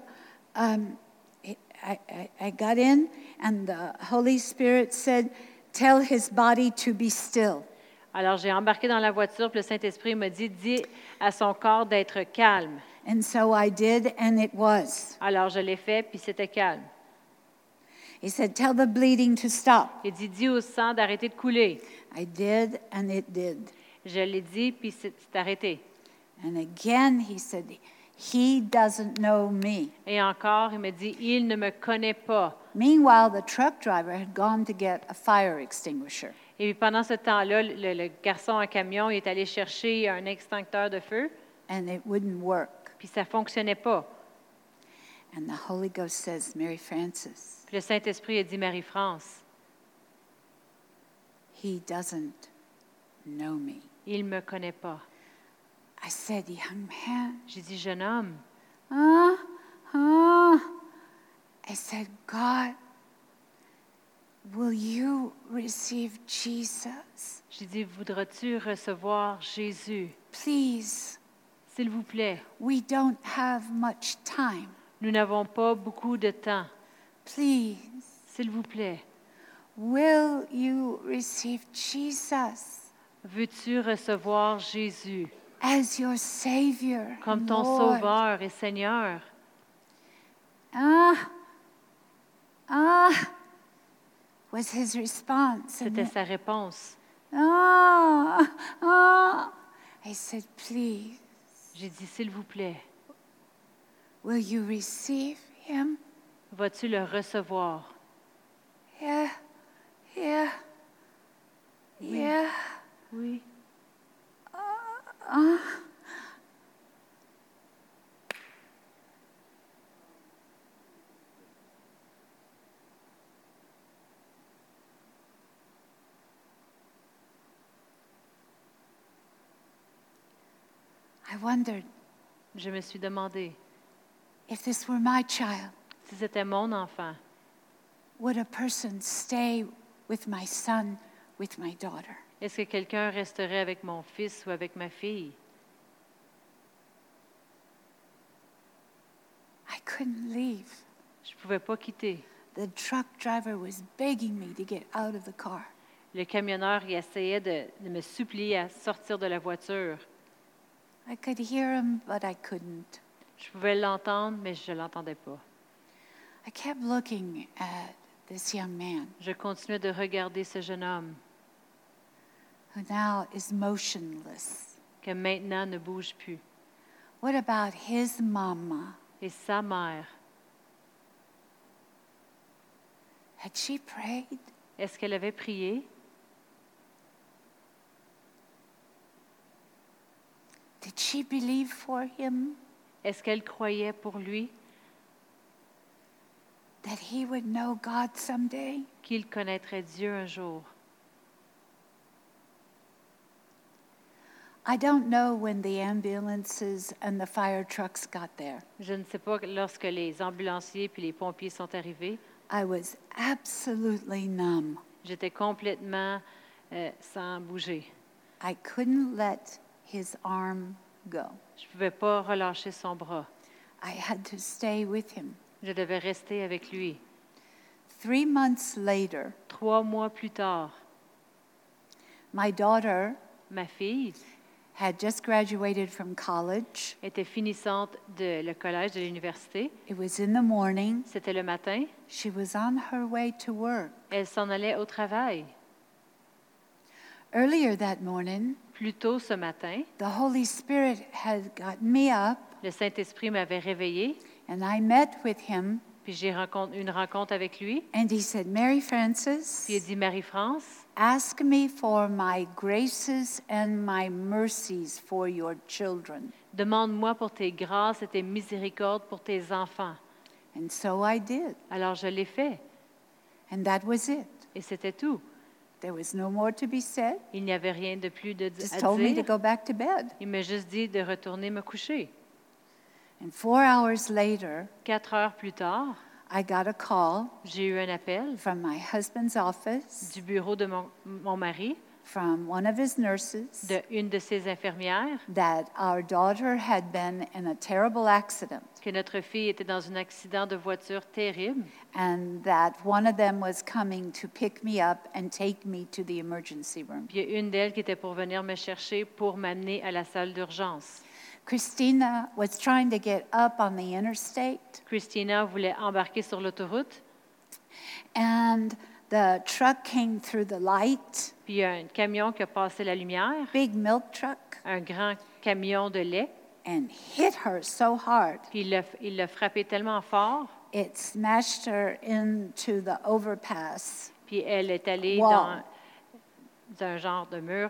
I got in, and the Holy Spirit said, tell his body to be still. Alors, j'ai embarqué dans la voiture, puis le Saint-Esprit m'a dit, dis à son corps d'être calme. And so I did, and it was. Alors, je l'ai fait, puis c'était calme. He said, tell the bleeding to stop. Il dit, dis au sang d'arrêter de couler. I did, and it did. Je l'ai dit, puis c'est arrêté. And again, he said, he doesn't know me. Et encore, il me dit, il ne me connaît pas. Meanwhile, the truck driver had gone to get a fire extinguisher. Et puis pendant ce temps-là, le garçon en camion il est allé chercher un extincteur de feu, And it wouldn't work. puis ça ne fonctionnait pas. And the Holy Ghost says, Mary Frances, Puis le Saint-Esprit a dit, Marie-France, he doesn't know me. il ne me connaît pas. I said, young man, J'ai dit, jeune homme, I said, God, will you receive Jesus? j'ai dit, voudras-tu recevoir Jésus? Please, S'il vous plaît, we don't have much time. nous n'avons pas beaucoup de temps. Please, S'il vous plaît, will you receive Jesus veux-tu recevoir Jésus as your Savior? comme ton Lord? Sauveur et Seigneur? Was his response. C'était sa réponse. I said, please, J'ai dit, s'il vous plaît, will you receive him? vas-tu le recevoir? Yeah. Oui. I wondered Je me suis demandé, if this were my child, si c'était mon enfant, would a person stay with my son, with my daughter? est-ce que quelqu'un resterait avec mon fils ou avec ma fille? I couldn't leave. Je ne pouvais pas quitter. The truck driver was begging me to get out of the car. Le camionneur il essayait de me supplier à sortir de la voiture. I could hear him, but I couldn't. Je pouvais l'entendre, mais je ne l'entendais pas. I kept looking at this young man Je continuais de regarder ce jeune homme who now is motionless. qui maintenant ne bouge plus. What about his mama? Et sa mère, Had she prayed? est-ce qu'elle avait prié? Did she believe for him Est-ce qu'elle croyait pour lui that he would know God someday? qu'il connaîtrait Dieu un jour? I don't know when the ambulances and the fire trucks got there. Je ne sais pas lorsque les ambulanciers puis les pompiers sont arrivés. I was absolutely numb. J'étais complètement sans bouger. I couldn't let his arm go. Je ne pouvais pas relâcher son bras. I had to stay with him. Je devais rester avec lui. 3 months later, 3 mois plus tard, my daughter ma fille had just graduated from college. était finissante de le collège, de l'université. It was in the morning. C'était le matin. She was on her way to work. Elle s'en allait au travail. Earlier that morning, Plus tôt ce matin, the Holy Spirit had gotten me up, le Saint-Esprit m'avait réveillée, and I met with him, puis j'ai une rencontre avec lui. and he said, Mary Puis il Frances, dit, Marie-France, ask me for my graces and my mercies for your children. demande-moi pour tes grâces et tes miséricordes pour tes enfants. And so I did, Alors je l'ai fait, and that was it. et c'était tout. There was no more to be said. Il n'y avait rien de plus Just à told me to dire. go back to bed. Il m'a juste dit de retourner me coucher. And 4 hours later, 4 heures plus tard, I got a call j'ai eu un appel from my husband's office, du bureau de mon mari, from one of his nurses, de une de ses infirmières, that our daughter had been in a terrible accident, que notre fille était dans un accident de voiture terrible and that one of them was coming to pick me up and take me to the emergency room. Puis il y a une d'elles qui était pour venir me chercher pour m'amener à la salle d'urgence. Christina was trying to get up on the interstate, Christina voulait embarquer sur l'autoroute, and the truck came through the light, puis il y a un camion qui a passé la lumière, big milk truck, un grand camion de lait, and hit her so hard. puis il l'a frappé tellement fort, It smashed her into the overpass. puis elle est allée Wow. dans un genre de mur,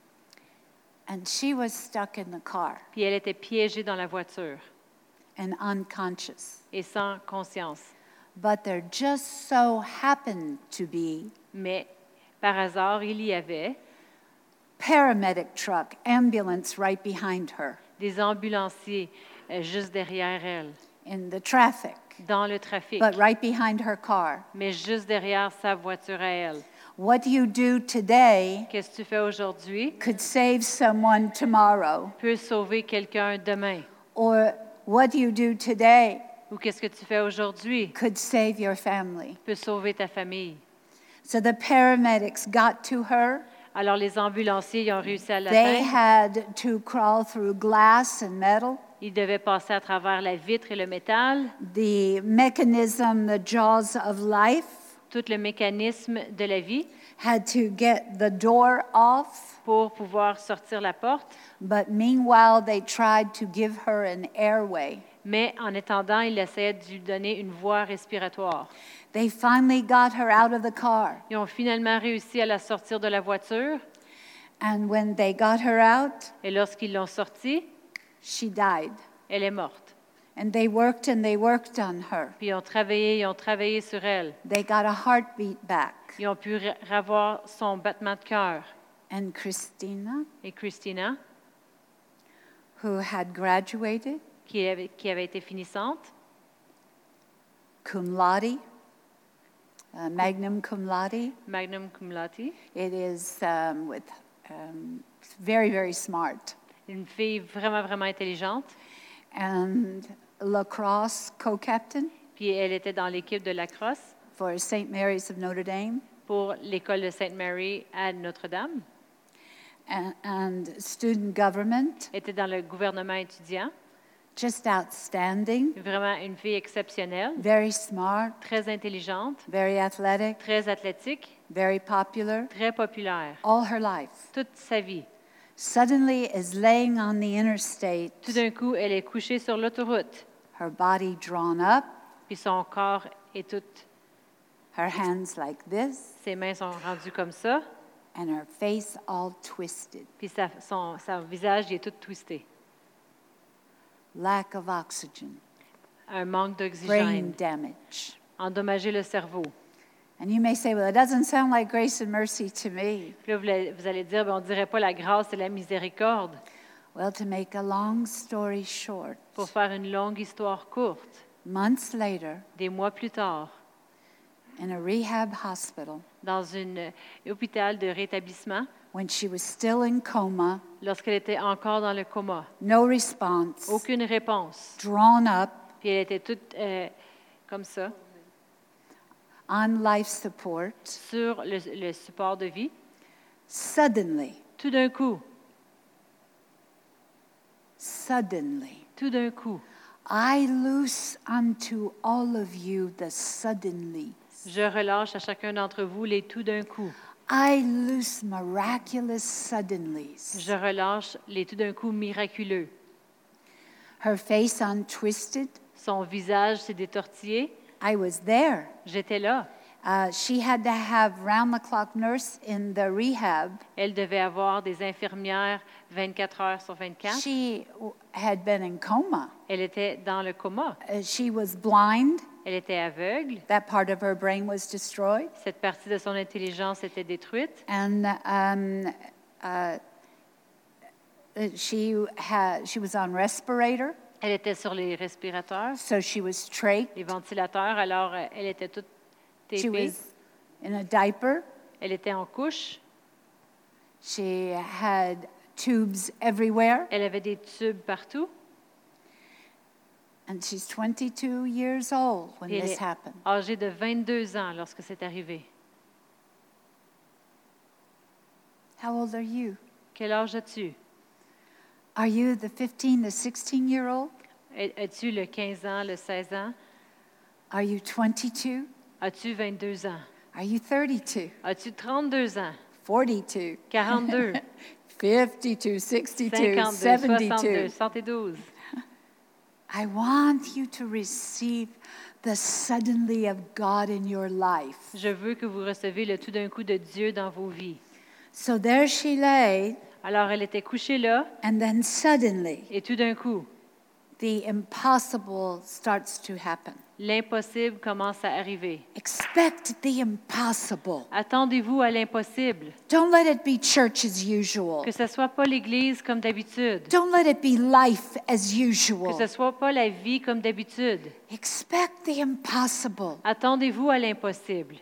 And she was stuck in the car puis elle était piégée dans la voiture and unconscious. et sans conscience. But there just so happened to be Mais par hasard, il y avait paramedic truck, ambulance right behind her des ambulanciers juste derrière elle, in the traffic, dans le trafic, but right behind her car. mais juste derrière sa voiture à elle. What you do today Qu'est-ce que tu fais aujourd'hui could save someone tomorrow. peut sauver quelqu'un demain. Or what you do today Ou qu'est-ce que tu fais aujourd'hui could save your family. peut sauver ta famille. So the paramedics got to her. Alors les ambulanciers ils ont réussi à They l'atteindre. had to crawl through glass and metal. Ils devaient passer à travers la vitre et le métal, The mechanism, the jaws of life, tout le mécanisme de la vie had to get the door off. pour pouvoir sortir la porte. But meanwhile, they tried to give her an airway. Mais en attendant, ils essayaient de lui donner une voie respiratoire. They finally got her out of the car. Ils ont finalement réussi à la sortir de la voiture. And when they got her out, Et lorsqu'ils l'ont sortie, she died. elle est morte. And they worked on her. Puis ils ont travaillé sur elle. They got a heartbeat back. Ils ont pu revoir son battement de cœur. And Christina, Et Christina, who had graduated qui avait été finissante, cum laude, magna cum laude, magna cum laude, it is with very, very smart. une fille vraiment, vraiment intelligente. And lacrosse co-captain Puis elle était dans l'équipe de lacrosse for St. Mary's of Notre Dame, pour l'école de Sainte Mary à Notre-Dame. and student government, Était dans le gouvernement étudiant. just outstanding, Vraiment une fille exceptionnelle, very smart, très intelligente, very athletic, très athlétique, very popular, très populaire, all her life. toute sa vie. suddenly is laying on the interstate, Tout d'un coup, elle est couchée sur l'autoroute, her body drawn up, puis son corps est tout, her hands like this, ses mains sont rendues comme ça, and her face all twisted. puis son visage il est tout twisté. Lack of oxygen, Un manque brain d'oxygène, damage. endommager le cerveau. And you may say, well, it doesn't sound like grace and mercy to me. Puis là, vous allez dire, ben, on ne dirait pas la grâce et la miséricorde. Well, to make a long story short, Pour faire une longue histoire courte, months later, des mois plus tard, in a rehab hospital, dans un hôpital de rétablissement, when she was still in coma, lorsqu'elle était encore dans le coma, no response, aucune réponse. drawn up, Puis elle était toute comme ça, on life support, sur le support de vie. suddenly, Tout d'un coup, tout d'un coup, I loose unto all of you the suddenly. je relâche à chacun d'entre vous les tout d'un coup. I loose miraculous suddenlies. Je relâche les tout d'un coup miraculeux. Her face untwisted. Son visage s'est détortillé. I was there. J'étais là. She had to have round-the-clock nurse in the rehab. Elle devait avoir des infirmières 24 heures sur 24. She had been in coma. Elle était dans le coma. She was blind. Elle était aveugle. That part of her brain was destroyed. Cette partie de son intelligence était détruite. And she was on respirator. Elle était sur les respirateurs, So she was trached. les ventilateurs, alors elle était toute She tapée. was in a diaper. Elle était en couche. She had tubes everywhere. Elle avait des tubes partout. And she's 22 years old when Et elle this est happened. âgée de 22 ans lorsque c'est arrivé. How old are you? Quel âge as-tu? Are you the 15, the 16-year-old? As-tu le 15 ans, le 16 ans? Are you 22? As-tu 22 ans? Are you 32? As-tu 32 ans? 42? 42? 52, 62, 52, 72. 62, 72? I want you to receive the suddenly of God in your life. Je veux que vous recevez le tout d'un coup de Dieu dans vos vies. So there she lay, Alors, elle était couchée là, and then suddenly et tout d'un coup, the impossible starts to happen. l'impossible commence à arriver. Expect the impossible. Attendez-vous à l'impossible. Don't let it be church as usual. Que ce ne soit pas l'Église comme d'habitude. Don't let it be life as Que usual. ce ne soit pas la vie comme d'habitude. Expect the impossible. Attendez-vous à l'impossible.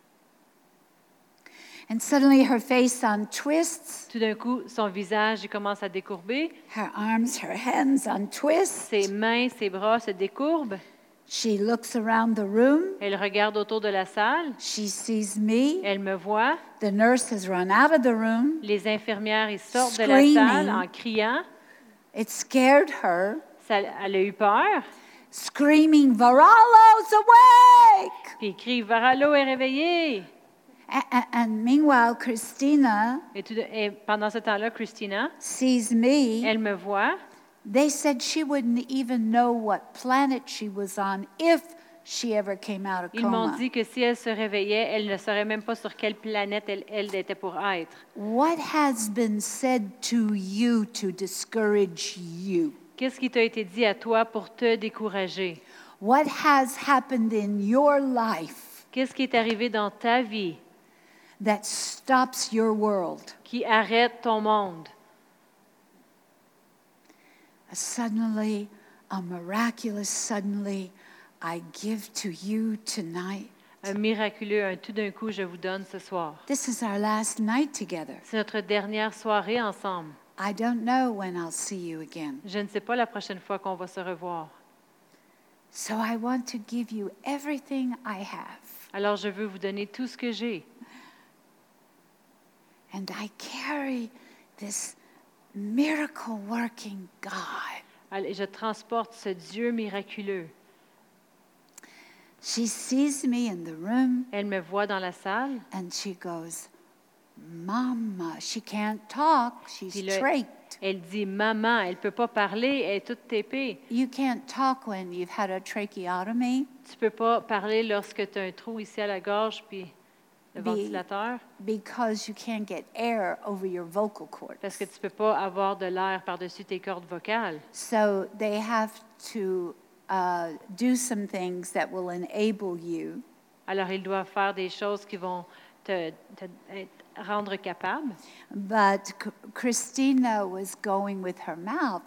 And suddenly her face untwists, Tout d'un coup, son visage il commence à décourber. her arms, her hands untwist. Ses mains, ses bras se décourbent. She looks around the room. Elle regarde autour de la salle. She sees me. Elle me voit. The nurse has run out of the room. Les infirmières ils sortent de Screaming. la salle en criant. It scared her. Elle a eu peur. Screaming, Varalo's awake! Puis il crie, Varalo est réveillé. And meanwhile, Christina Et pendant ce temps-là, Christina, sees me. elle me voit. They said she wouldn't even know what planet she was on if she ever came out of Ils m'ont coma. dit que si elle se réveillait, elle ne saurait même pas sur quelle planète elle était pour être. What has been said to you to discourage you? Qu'est-ce qui t'a été dit à toi pour te décourager? What has happened in your life Qu'est-ce qui est arrivé dans ta vie that stops your world? qui arrête ton monde? Suddenly, a miraculous suddenly, I give to you tonight. Un miraculeux, un tout d'un coup, je vous donne ce soir. This is our last night together. C'est notre dernière soirée ensemble. I don't know when I'll see you again. Je ne sais pas la prochaine fois qu'on va se revoir. So I want to give you everything I have. Alors, je veux vous donner tout ce que j'ai. And I carry this miracle working God. Et je transporte ce Dieu miraculeux. She sees me in the room Elle me voit dans la salle and she goes, Mama, she can't talk. She's Puis là, trached. elle dit, maman, elle ne peut pas parler, elle est toute tépée. You can't talk when you've had a tracheotomy Tu ne peux pas parler lorsque tu as un trou ici à la gorge, puis le Be- ventilateur, because you can't get air over your vocal cords. parce que tu ne peux pas avoir de l'air par-dessus tes cordes vocales. So they have to do some things that will enable you Alors, ils doivent faire des choses qui vont te rendre capable. But Christina was going with her mouth.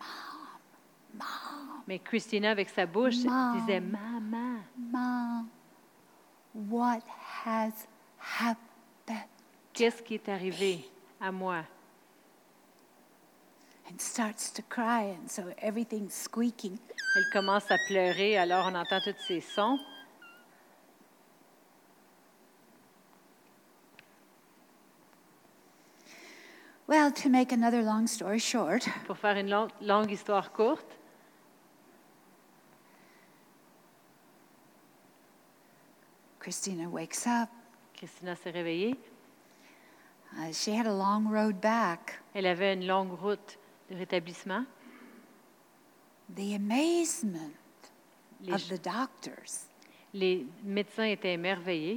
Mais Christina, avec sa bouche, Mom. disait, maman, Mom, what has happened? qu'est-ce qui est arrivé à moi? And starts to cry, and so everything's squeaking. Elle commence à pleurer, alors on entend tous ces sons. Well, to make another long story short, Pour faire une longue histoire courte, Christina wakes up. Christina s'est réveillée. She had a long road back. Elle avait une longue route de rétablissement. The amazement Les, of the doctors, les médecins étaient émerveillés.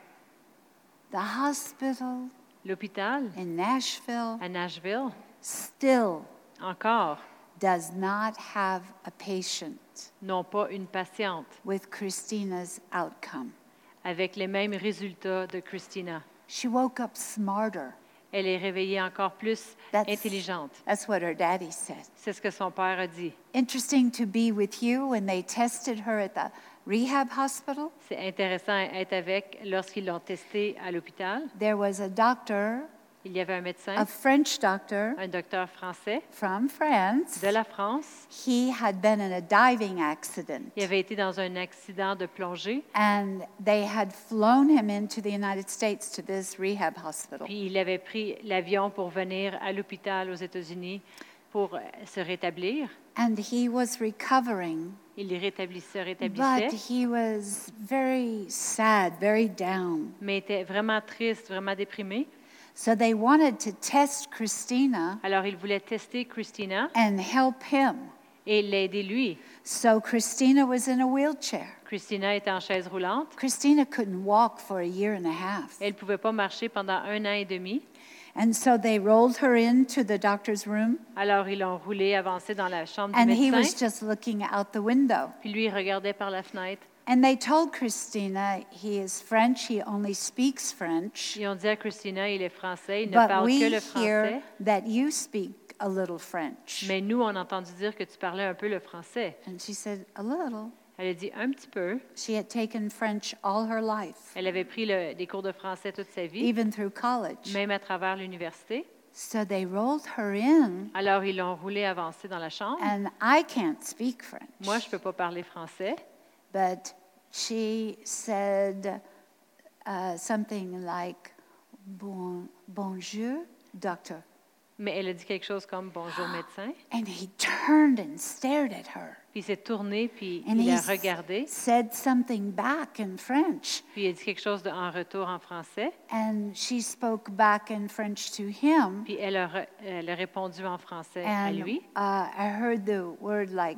the hospital L'hôpital in Nashville à Nashville, still encore, does not have a patient n'ont pas une patiente with Christina's outcome. avec les mêmes résultats de Christina. She woke up smarter. Elle est réveillée encore plus intelligente. That's what her daddy said. C'est ce que son père a dit. Interesting to be with you when they tested her at the rehab hospital. C'est intéressant d'être avec lorsqu'ils l'ont testée à l'hôpital. There was a doctor, Il y avait un médecin, a French doctor un docteur français from France. de la France. He had been in a diving accident, Il avait été dans un accident de plongée, and they had flown him into the United States to this rehab hospital. puis il avait pris l'avion pour venir à l'hôpital aux États-Unis pour se rétablir. And he was recovering, Il se but rétablissait, he was very sad, very down. mais était vraiment triste, vraiment déprimé. So they wanted to test Christina Alors il voulait tester Christina and help him. et l'aider lui. So Christina was in a wheelchair. Christina était en chaise roulante. Christina couldn't walk for a year and a half. Elle ne pouvait pas marcher pendant 1 an et demi. And so they rolled her into the doctor's room, Alors ils l'ont roulée, avancée dans la chambre du and he was médecin. just looking out the window. Puis lui, il regardait par la fenêtre. And they told Christina he is French, he only speaks French, Ils ont dit à Christina, il est français, il ne but parle we que le hear français. that you speak a little French. Mais nous, on a entendu dire que tu parlais un peu le français. And she said, a little. Elle a dit un petit peu. She had taken French all her life, Elle avait pris des cours de français toute sa vie, even through college. même à travers l'université. So they rolled her in, Alors ils l'ont roulée avancée dans la chambre. and I can't speak French. Moi, je ne peux pas parler français. But she said something like, bonjour, doctor. Mais elle a dit quelque chose comme bonjour médecin. And he turned and stared at her. Puis il s'est tourné, puis And il he a regardé. said something back in French. Puis il a dit quelque chose en retour en français. And she spoke back in French to him. Puis elle a répondu en français à And lui. I heard the word like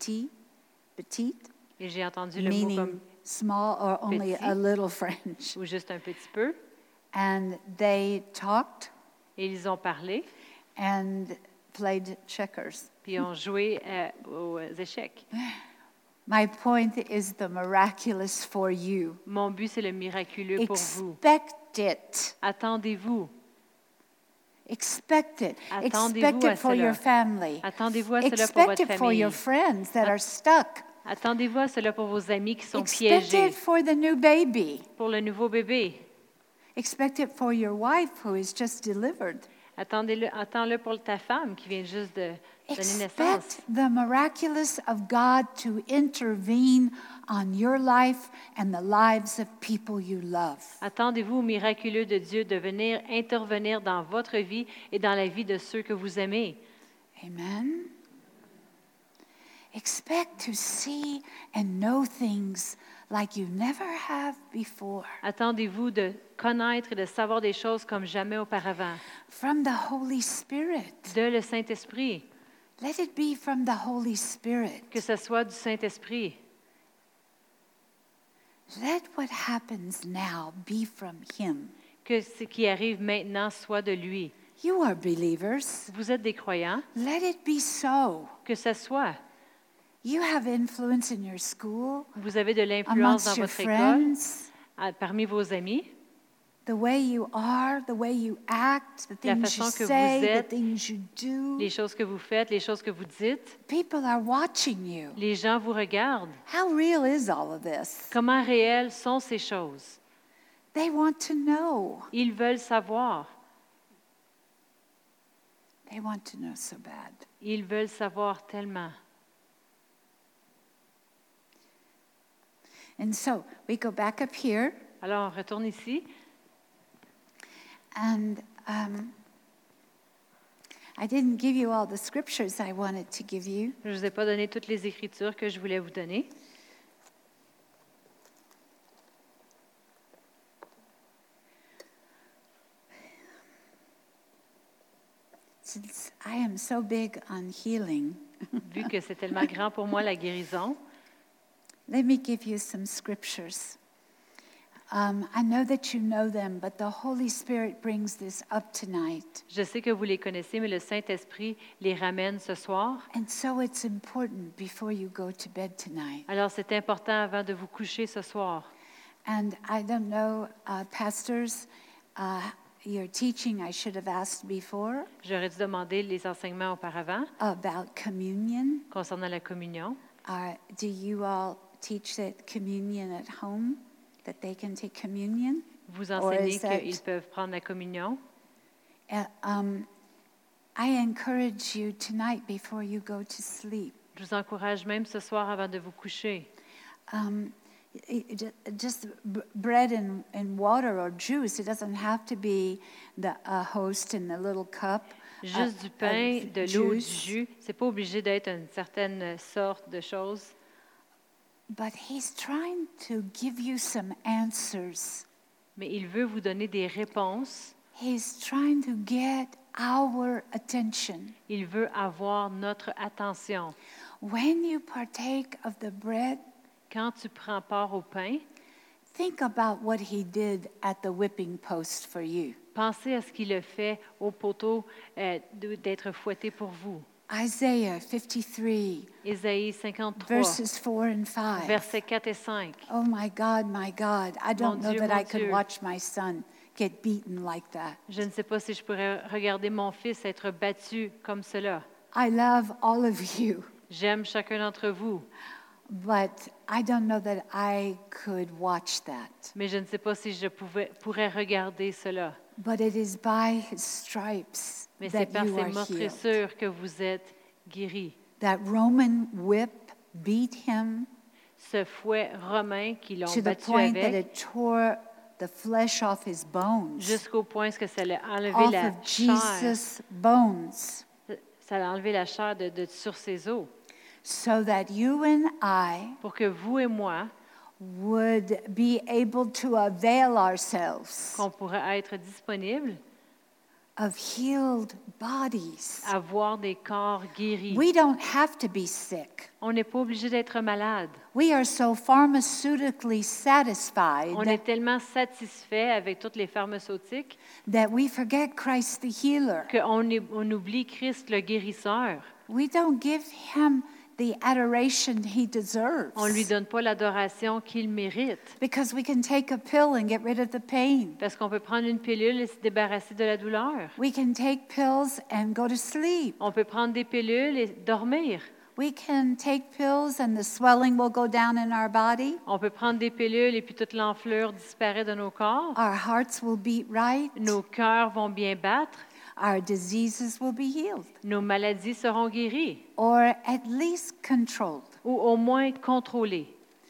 petite, Et j'ai entendu le mot meaning comme small or only petit. a little French. ou juste un petit peu. And they talked Et ils ont parlé, and played checkers. puis ils ont joué aux échecs. My point is the miraculous for you. Mon but, c'est le miraculeux pour vous. Expect it. Attendez-vous. Expect it. Attendez-vous Expect à it for cela. your family. Attendez-vous à cela pour Expect votre it for your famille. friends that are stuck. Attendez-vous à cela pour vos amis qui sont Expect piégés, it for the new baby. pour le nouveau bébé. Expect it for your wife who is just delivered. Attends-le pour ta femme qui vient juste de donner naissance. Expect the miraculous of God to intervene on your life and the lives of people you love. Attendez-vous au miraculeux de Dieu de venir intervenir dans votre vie et dans la vie de ceux que vous aimez. Amen. Expect to see and know things like you never have before. Attendez-vous de connaître et de savoir des choses comme jamais auparavant. From the Holy Spirit. De le Saint-Esprit. Let it be from the Holy Spirit. Que ce soit du Saint-Esprit. Let what happens now be from Him. Que ce qui arrive maintenant soit de lui. You are believers. Vous êtes des croyants. Let it be so. Que ce soit. You have influence in your school, Vous avez de l'influence dans amongst your votre école, friends, parmi vos amis, the way you are, the way you act, the la things you façon que vous say, the êtes, things you do. les choses que vous faites, les choses que vous dites. People are watching you. Les gens vous regardent. How real is all of this? Comment réelles sont ces choses? They want to know. Ils veulent savoir. They want to know so bad. Ils veulent savoir tellement. And so we go back up here, Alors, on retourne ici. and I didn't give you all the scriptures I wanted to give you. Je ne vous ai pas donné toutes les Écritures que je voulais vous donner. Since I am so big on healing, Vu que c'est tellement grand pour moi, la guérison, let me give you some scriptures. I know that you know them, but the Holy Spirit brings this up tonight. je sais que vous les connaissez, mais le Saint-Esprit les ramène ce soir. And so it's important before you go to bed tonight. Alors, c'est important avant de vous coucher ce soir. And I don't know, pastors, your teaching I should have asked before J'aurais dû demander les enseignements auparavant about communion. concernant la communion. Do you all teach that communion at home, that they can take communion? Vous Or enseignez is that- qu'ils peuvent prendre la communion. I encourage you tonight before you go to sleep. Je vous encourage même ce soir avant de vous coucher. Just bread and water or juice. It doesn't have to be the host in the little cup. Juste du pain, de l'eau, du jus. C'est pas obligé d'être une certaine sorte de choses. But he's trying to give you some answers. Mais il veut vous donner des réponses. He's trying to get our attention. Il veut avoir notre attention. When you partake of the bread, Quand tu prends part au pain, think about what he did at the whipping post for you. pensez à ce qu'il a fait au poteau d'être fouetté pour vous. Isaiah 53, Ésaïe 53, verses 4 and 5. versets 4 et 5. Oh my God, I don't know Dieu, that mon I could Dieu. watch my son get beaten like that. Je ne sais pas si je pourrais regarder mon fils être battu comme cela. I love all of you, J'aime chacun d'entre vous, but I don't know that I could watch that. mais je ne sais pas si je pourrais regarder cela. But it is by his stripes Mais c'est that par you ces are healed. meurtrissures que vous êtes guéris. That Roman whip beat him Ce fouet romain qui l'ont to the battu point that avec, it tore the flesh off his bones, jusqu'au point que ça l'a enlevé off la of chair. Jesus' bones, Ça a enlevé la chair sur ses os. so that you and I Pour que vous et moi, would be able to avail ourselves qu'on pourrait être disponibles of healed bodies. à voir des corps guéris. We don't have to be sick. On n'est pas obligé d'être malade. We are so pharmaceutically satisfied On est tellement satisfait avec toutes les pharmaceutiques that we forget Christ the healer. qu'on oublie Christ le guérisseur. We don't give him the adoration he deserves. On ne lui donne pas l'adoration qu'il mérite. Because we can take a pill and get rid of the pain. Parce qu'on peut prendre une pilule et se débarrasser de la douleur. We can take pills and go to sleep. On peut prendre des pilules et dormir. We can take pills and the swelling will go down in our body. On peut prendre des pilules et puis toute l'enflure disparaît de nos corps. Our hearts will beat right. Nos cœurs vont bien battre. Our diseases will be healed. Nos maladies seront guéries Or at least controlled. ou au moins contrôlées.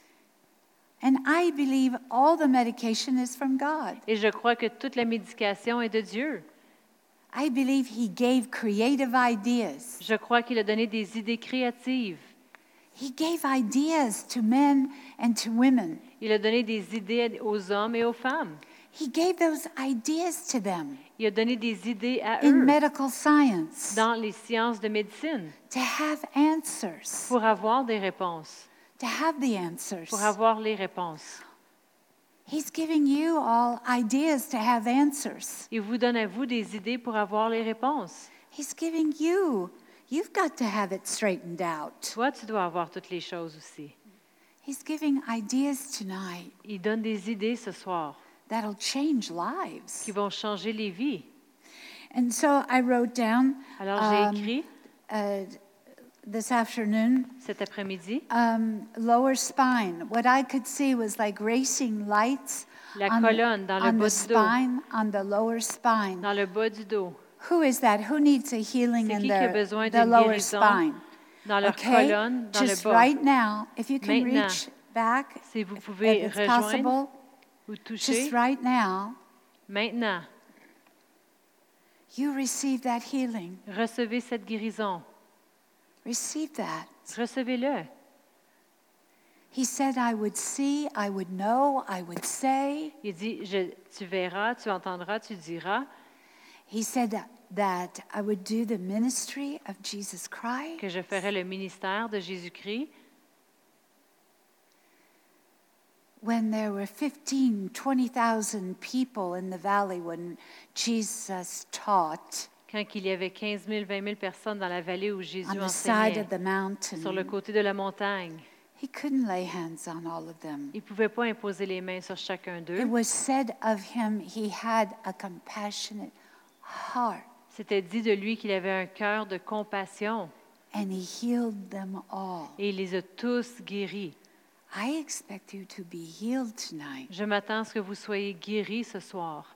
And I believe all the medication is from God. Et je crois que toute la médication est de Dieu. I believe he gave creative ideas. Je crois qu'il a donné des idées créatives. He gave ideas to men and to women. Il a donné des idées aux hommes et aux femmes. He gave those ideas to them Il a donné des idées à in eux medical science dans les sciences de médecine to have answers, pour avoir des réponses, to have the answers. pour avoir les réponses. He's giving you all ideas to have answers. Il vous donne à vous des idées pour avoir les réponses. He's giving you, you've got to have it straightened out. Toi, tu dois avoir toutes les choses aussi. He's giving ideas tonight Il donne des idées ce soir that'll change lives. qui vont changer les vies. And so I wrote down Alors, j'ai écrit this afternoon, cet après-midi, lower spine. What I could see was like racing lights la on, colonne dans le on bas the du dos, spine, on the lower spine. dans le bas du dos. Who is that? Who needs a healing C'est in qui a besoin the d'une lower guérison spine? dans leur Okay, colonne, dans just le bas. right now, if you can Maintenant, reach back, Si vous if pouvez it's rejoindre possible, ou toucher, just right now, maintenant, you receive that healing. recevez cette guérison. Receive that. Recevez-le. He said, I would see, I would know, I would say. Il dit, tu verras, tu entendras, tu diras He said that I would do the ministry of Jesus Christ. que je ferai le ministère de Jésus-Christ. When there were 15, 20,000 people in the valley when Jesus taught Quand il y avait 15 000, 20 000 personnes dans la vallée où Jésus on the side enseignait, of the sur le mountain, côté de la montagne, he couldn't lay hands on all of them. il ne pouvait pas imposer les mains sur chacun It d'eux. was said of him, he had a compassionate heart, C'était dit de lui qu'il avait un cœur de compassion and he healed them all. et il les a tous guéris. I expect you to be healed tonight. Je m'attends à ce que vous soyez guéris ce soir.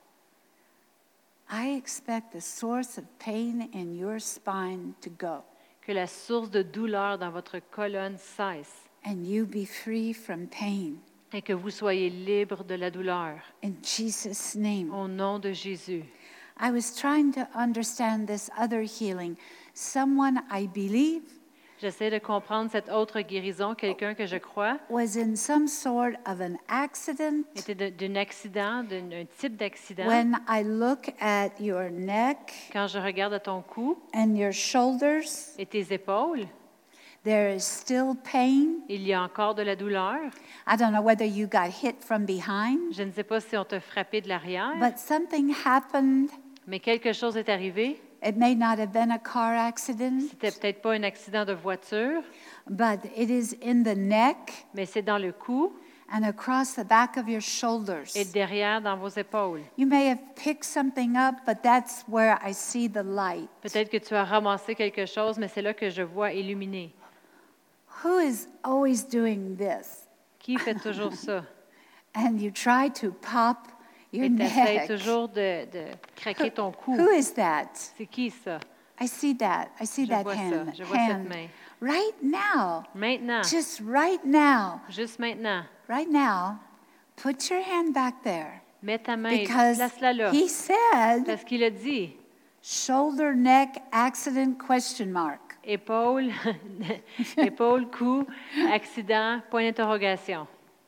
I expect the source of pain in your spine to go, Que la source de douleur dans votre colonne cesse and you be free from pain. et que vous soyez libre de la douleur. In Jesus' name. Au nom de Jésus. I was trying to understand this other healing. Someone I believe J'essaie de comprendre cette autre guérison. Quelqu'un que je crois was in some sort of an accident. était d'un accident, d'un type d'accident. When I look at your neck Quand je regarde à ton cou and your shoulders, et tes épaules, there is still pain. il y a encore de la douleur. I don't know whether you got hit from behind, Je ne sais pas si on t'a frappé de l'arrière, but something happened. mais quelque chose est arrivé. It may not have been a car accident, C'était peut-être pas un accident de voiture, but it is in the neck mais c'est dans le cou and across the back of your shoulders. et derrière dans vos épaules. You may have picked something up, but that's where I see the light. Peut-être que tu as ramassé quelque chose, mais c'est là que je vois illuminé. Who is always doing this? Qui fait toujours ça? And you try to pop your Et tu essaies neck. toujours de craquer ton cou. Who is that? C'est qui ça? I see that. I see Je that vois ça. hand. Je vois cette hand. main. Right now. Maintenant, Just right now. juste maintenant, Right now. Put your hand back there. mets ta main, Because place-la là. he said, Parce qu'il a dit, shoulder, neck, accident, question mark. épaule, épaule, cou, accident, point d'interrogation.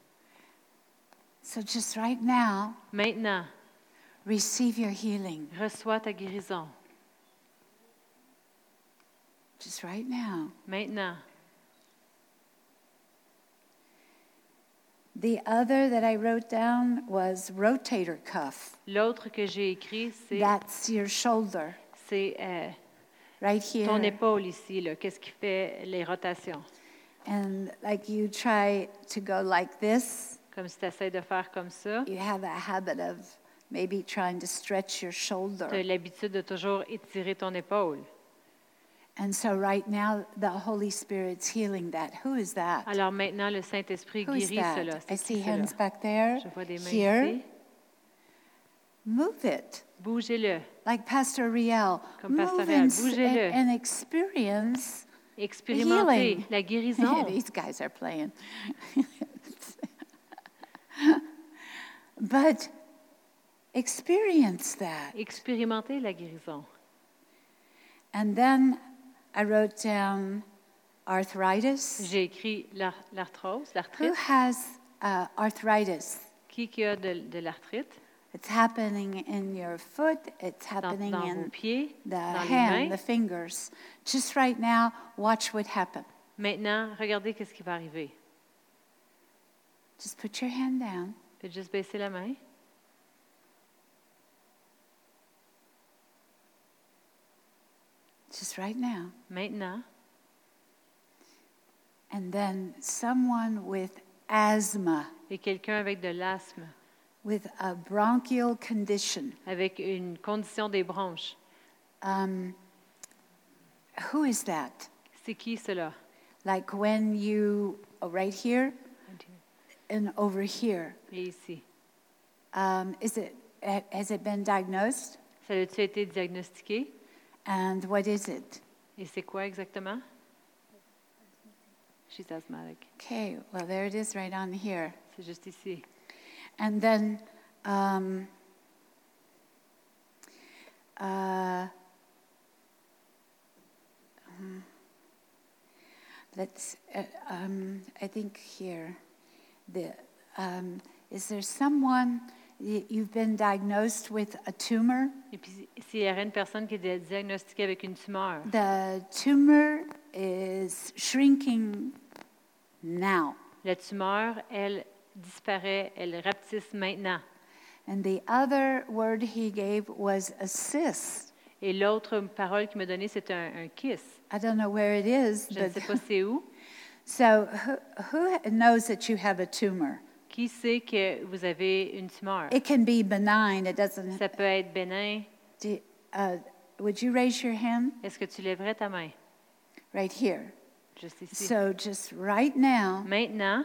So just right now, Maintenant, receive your healing. reçois ta guérison. Just right now. Maintenant. The other that I wrote down was rotator cuff. L'autre que j'ai écrit, That's your shoulder, c'est right ton here. épaule ici. Là. Qu'est-ce qui fait les rotations? And like you try to go like this, Comme si tu essaies de faire comme ça. you have a habit of maybe trying to stretch your Tu as shoulder. l'habitude de toujours étirer ton épaule. And so right now, the Holy Spirit's healing that. Who is that? Alors maintenant, le Saint-Esprit Who is guérit cela. that? I C'est see qui cela? hands back there. Je vois des mains Here. ici. Move it. Bougez-le. Like Pastor Riel. Comme Pastor Move Riel, and, bougez-le. and experience Expérimentez healing. la guérison. These guys are playing. But experience that. Expérimentez la guérison. And then I wrote down arthritis? J'ai écrit l'arthrose, Who l'arthrite. has arthritis? Qui a de l'arthrite It's happening in your foot, it's happening dans vos in pieds, the dans les hand, mains? the fingers. Just right now, watch what happens. Maintenant, regardez qu'est-ce qui va arriver. Just put your hand down. Faites juste baisser la main. Just right now. Maintenant, And then someone with asthma, et quelqu'un avec de l'asthme, with a bronchial condition. avec une condition des bronches. Who is that? C'est qui cela? Like when you, right here and over here. Et ici. Has it been diagnosed? Ça a-t-il été diagnostiqué? And what is it? Et c'est quoi exactement? She's asthmatic. Okay, well, there it is right on here. C'est juste ici. And then, I think here, is there someone, you've been diagnosed with a tumor? Et puis, s'il y aurait une personne qui est diagnostiquée avec une tumeur, The tumor is shrinking now. la tumeur, elle disparaît, elle rapetisse maintenant. And the other word he gave was a cyst. Et l'autre parole qu'il m'a donnée, c'est un kiss. I don't know where it is, Je ne sais pas c'est où. So who knows that you have a tumor? Qui sait que vous avez une tumeur? It can be benign. It doesn't. Ça peut être bénin. Would you raise your hand Est-ce que tu lèverais ta main? right here? Juste ici. So just right now, Maintenant,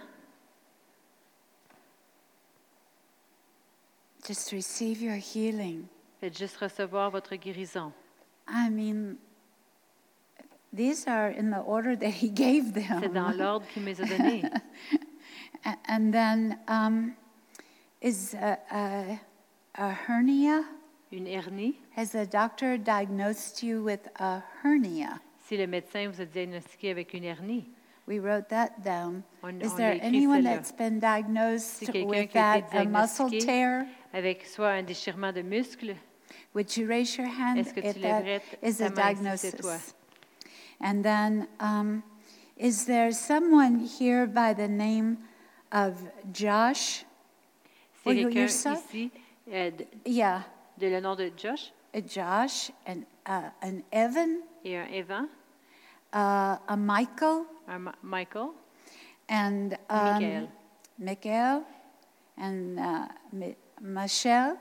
just receive your healing. faites juste recevoir votre guérison. I mean, these are in the order that he gave C'est dans them. l'ordre qu'il me les a donnés. And then is a hernia? Une hernie. Has the doctor diagnosed you with a hernia? Si le médecin vous a diagnostiqué avec une hernie, We wrote that down. On Is l'a there écrit anyone celle-là. that's been diagnosed C'est quelqu'un with qui a été that, a muscle diagnostiqué tear? avec soit un déchirement de muscle, Would you raise your hand Est-ce que tu if lèverais that is ta a main si c'est toi? diagnosis? And then, is there someone here by the name of Josh? c'est Oh, quelqu'un yourself? ici Yeah, de le nom de Josh Josh and an Evan, et un Evan, a Michael, un Michael, and Michael. Michael, and Michelle,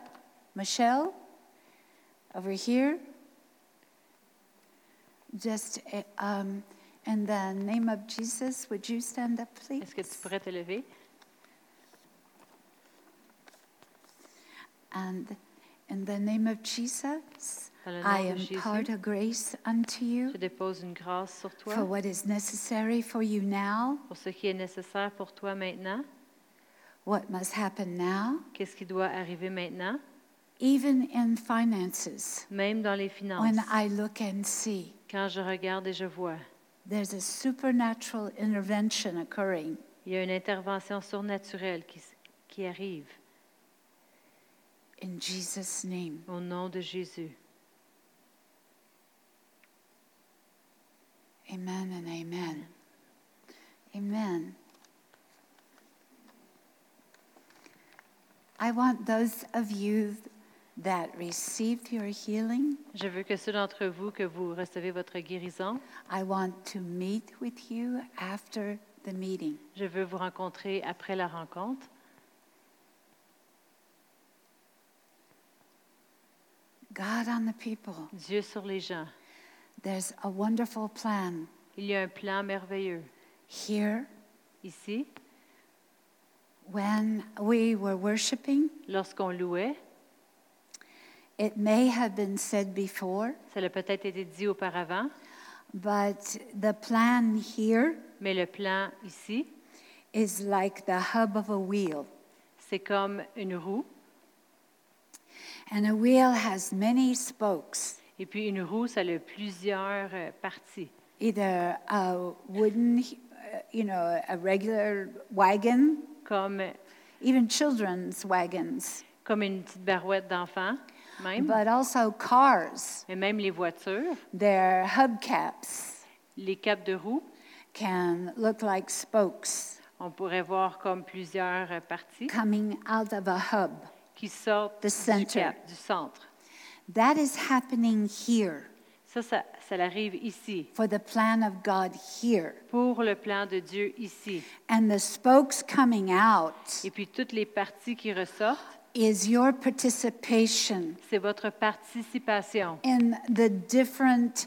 over here. Just in the name of Jesus, would you stand up, please? Est-ce que tu pourrais te lever? And in the name of Jesus, Dans le nom I de Jésus, impart a grace unto you je dépose une grâce sur for toi what is necessary for you now, pour ce qui est nécessaire pour toi maintenant. what must happen now, Qu'est-ce qui doit arriver maintenant? even in finances. Même dans les finances. When I look and see, Quand je regarde et je vois, there's a supernatural intervention occurring. il y a une intervention surnaturelle qui arrive In Jesus' name. au nom de Jésus. Amen and amen. Amen. I want those of you that received your healing, Je veux que ceux d'entre vous que vous recevez votre guérison, I want to meet with you after the meeting. je veux vous rencontrer après la rencontre. God on the people. Dieu sur les gens. There's a wonderful plan Il y a un plan merveilleux. here. Ici, When we were worshiping, lorsqu'on louait, it may have been said before, ça a peut-être été dit auparavant, but the plan here mais le plan ici, is like the hub of a wheel. c'est comme une roue. And a wheel has many spokes. Et puis une roue, ça a plusieurs parties. either a wooden, a regular wagon, comme even children's wagons, une petite barouette d'enfant, même, but also cars. mais même les voitures, Their hubcaps les capes de roue, can look like spokes on pourrait voir comme plusieurs parties coming out of a hub. qui sortent The center. du centre. That is happening here Ça arrive ici, for the plan of God here. pour le plan de Dieu ici. And the spokes coming out Et puis toutes les parties qui ressortent, is your participation c'est votre participation in the different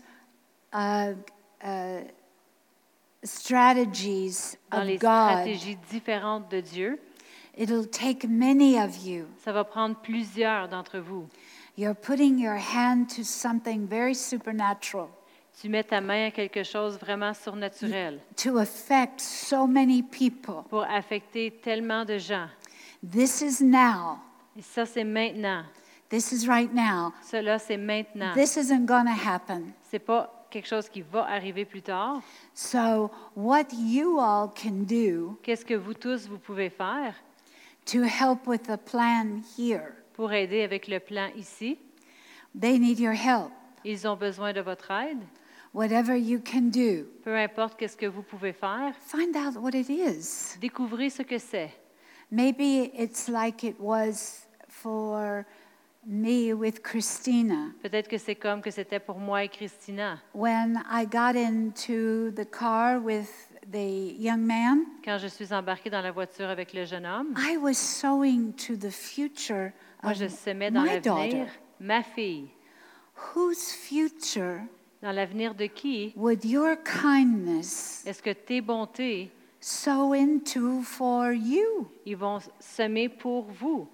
strategies dans of les God. stratégies différentes de Dieu. It'll take many of you. Ça va prendre plusieurs d'entre vous. You're putting your hand to something very supernatural Tu mets ta main à quelque chose vraiment surnaturel to affect so many people. pour affecter tellement de gens. This is now. Et ça, c'est maintenant. This is right now. Cela, c'est maintenant. This isn't going to happen. C'est pas quelque chose qui va arriver plus tard. So, what you all can do Qu'est-ce que vous tous, vous pouvez faire to help with the plan here? pour aider avec le plan ici? They need your help. Ils ont besoin de votre aide. Whatever you can do, Peu importe qu'est-ce que vous pouvez faire, find out what it is. découvrez ce que c'est. Maybe it's like it was for me with Christina. Peut-être que c'est comme que c'était pour moi et Christina. When I got into the car with the young man, Quand je suis embarquée dans la voiture avec le jeune homme, I was sowing to the future moi, of je semais dans my l'avenir daughter. ma fille. Whose future Dans l'avenir de qui would your kindness est-ce que tes bontés, sow into for you? ils vont semer pour vous?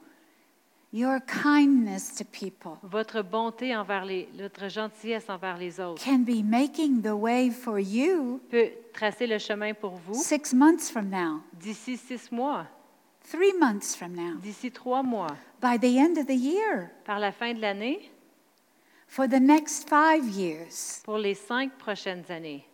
Your kindness to people Votre bonté votre gentillesse envers les autres can be making the way for you peut tracer le chemin pour vous 6 months from now, d'ici 6 mois, 3 months from now, d'ici 3 mois, by the end of the year, par la fin de l'année, for the next 5 years. pour les 5 prochaines années.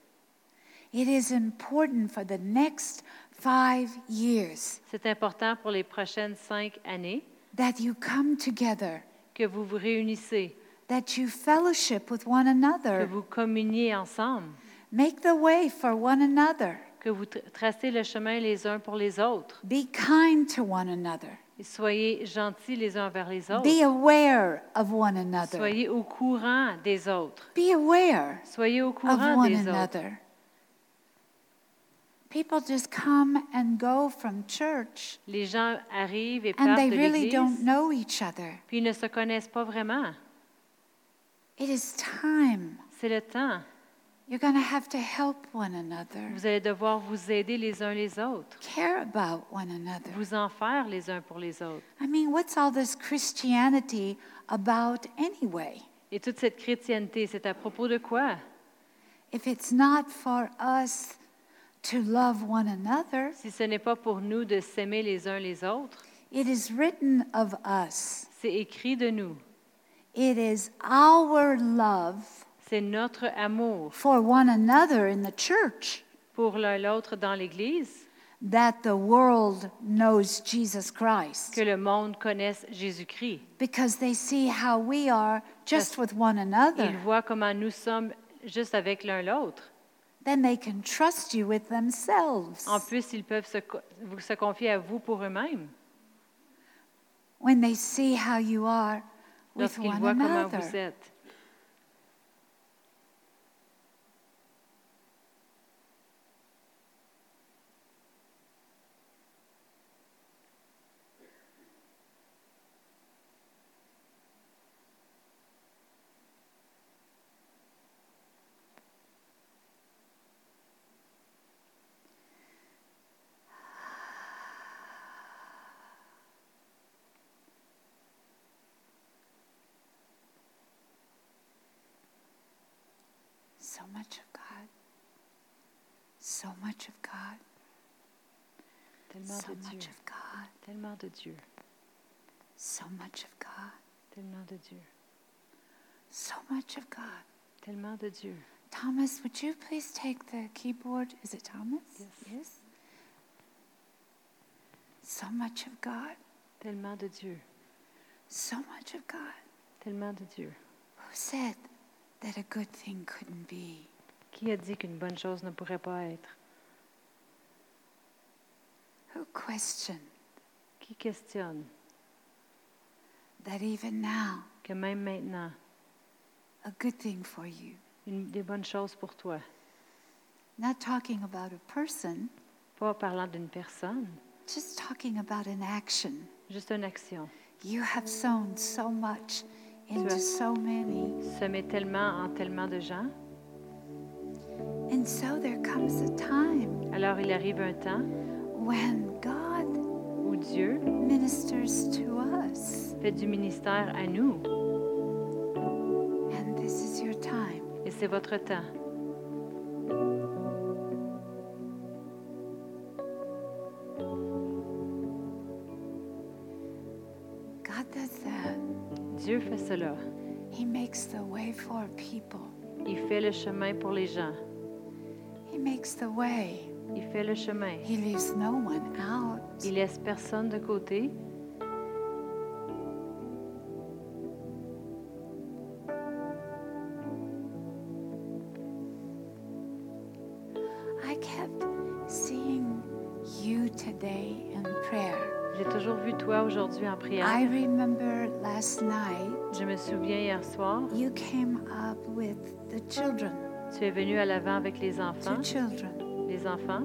It is important for the next 5 years C'est important pour les prochaines 5 années that you come together, que vous vous réunissez, that you fellowship with one que another, vous communiez ensemble, make the way for one another, que vous tracez le chemin les uns pour les autres. be kind to one another, Et soyez gentils les uns envers les autres. be aware of one another, Soyez au courant des autres. be aware Soyez au of courant one des autres. another. People just come and go from church, Les gens arrivent et and partent they de really don't l'Église, know each other. puis ils ne se connaissent pas vraiment. It is time. C'est le temps. You're going to have to help one another, Vous allez devoir vous aider les uns les autres, care about one another. vous en faire les uns pour les autres. I mean, what's all this Christianity about anyway? Et toute cette chrétienté, c'est à propos de quoi? If it's not for us to love one another, Si ce n'est pas pour nous de s'aimer les uns les autres, it is written of us. c'est écrit de nous. It is our love C'est notre amour for one another in the church pour l'un l'autre dans l'Église that the world knows Jesus Christ, que le monde connaisse Jésus-Christ. because they see how we are just with one another. Ils voient comment nous sommes juste avec l'un l'autre. Then they can trust you with themselves. En plus, ils peuvent se confier à vous pour eux-mêmes. When they see how you are with Lorsqu'ils one voient comment another. vous êtes. So much of God. So much of God. Tellement So de Dieu. much of God. Tellement de Dieu. So much of God. Tellement de Dieu. So much of God. Tellement de Dieu. Thomas, would you please take the keyboard? Is it Thomas? Yes. So much of God. Tellement de Dieu. So much of God. Tellement de Dieu. Who said that a good thing couldn't be? Qui a dit qu'une bonne chose ne pourrait pas être? Who questioned Qui questionne that even now, que même maintenant, a good thing for you? des bonnes choses pour toi? Not talking about a person, Pas parlant d'une personne, just talking about an action. juste une action. You have sown so much into so many. Semer tellement en tellement de gens. And so there comes a time Alors il arrive un temps when God où Dieu ministers to us. fait du ministère à nous. And this is your time. Et c'est votre temps. God does that. Dieu fait cela. He makes the way for people. Il fait le chemin pour les gens. He makes the way. Il fait le chemin. He leaves no one out. Il laisse personne de côté. I kept seeing you today in prayer. J'ai toujours vu toi aujourd'hui en prière. I remember last night Je me souviens hier soir, you came up with the children. tu es venu à l'avant avec les 2 enfants. children. Les enfants.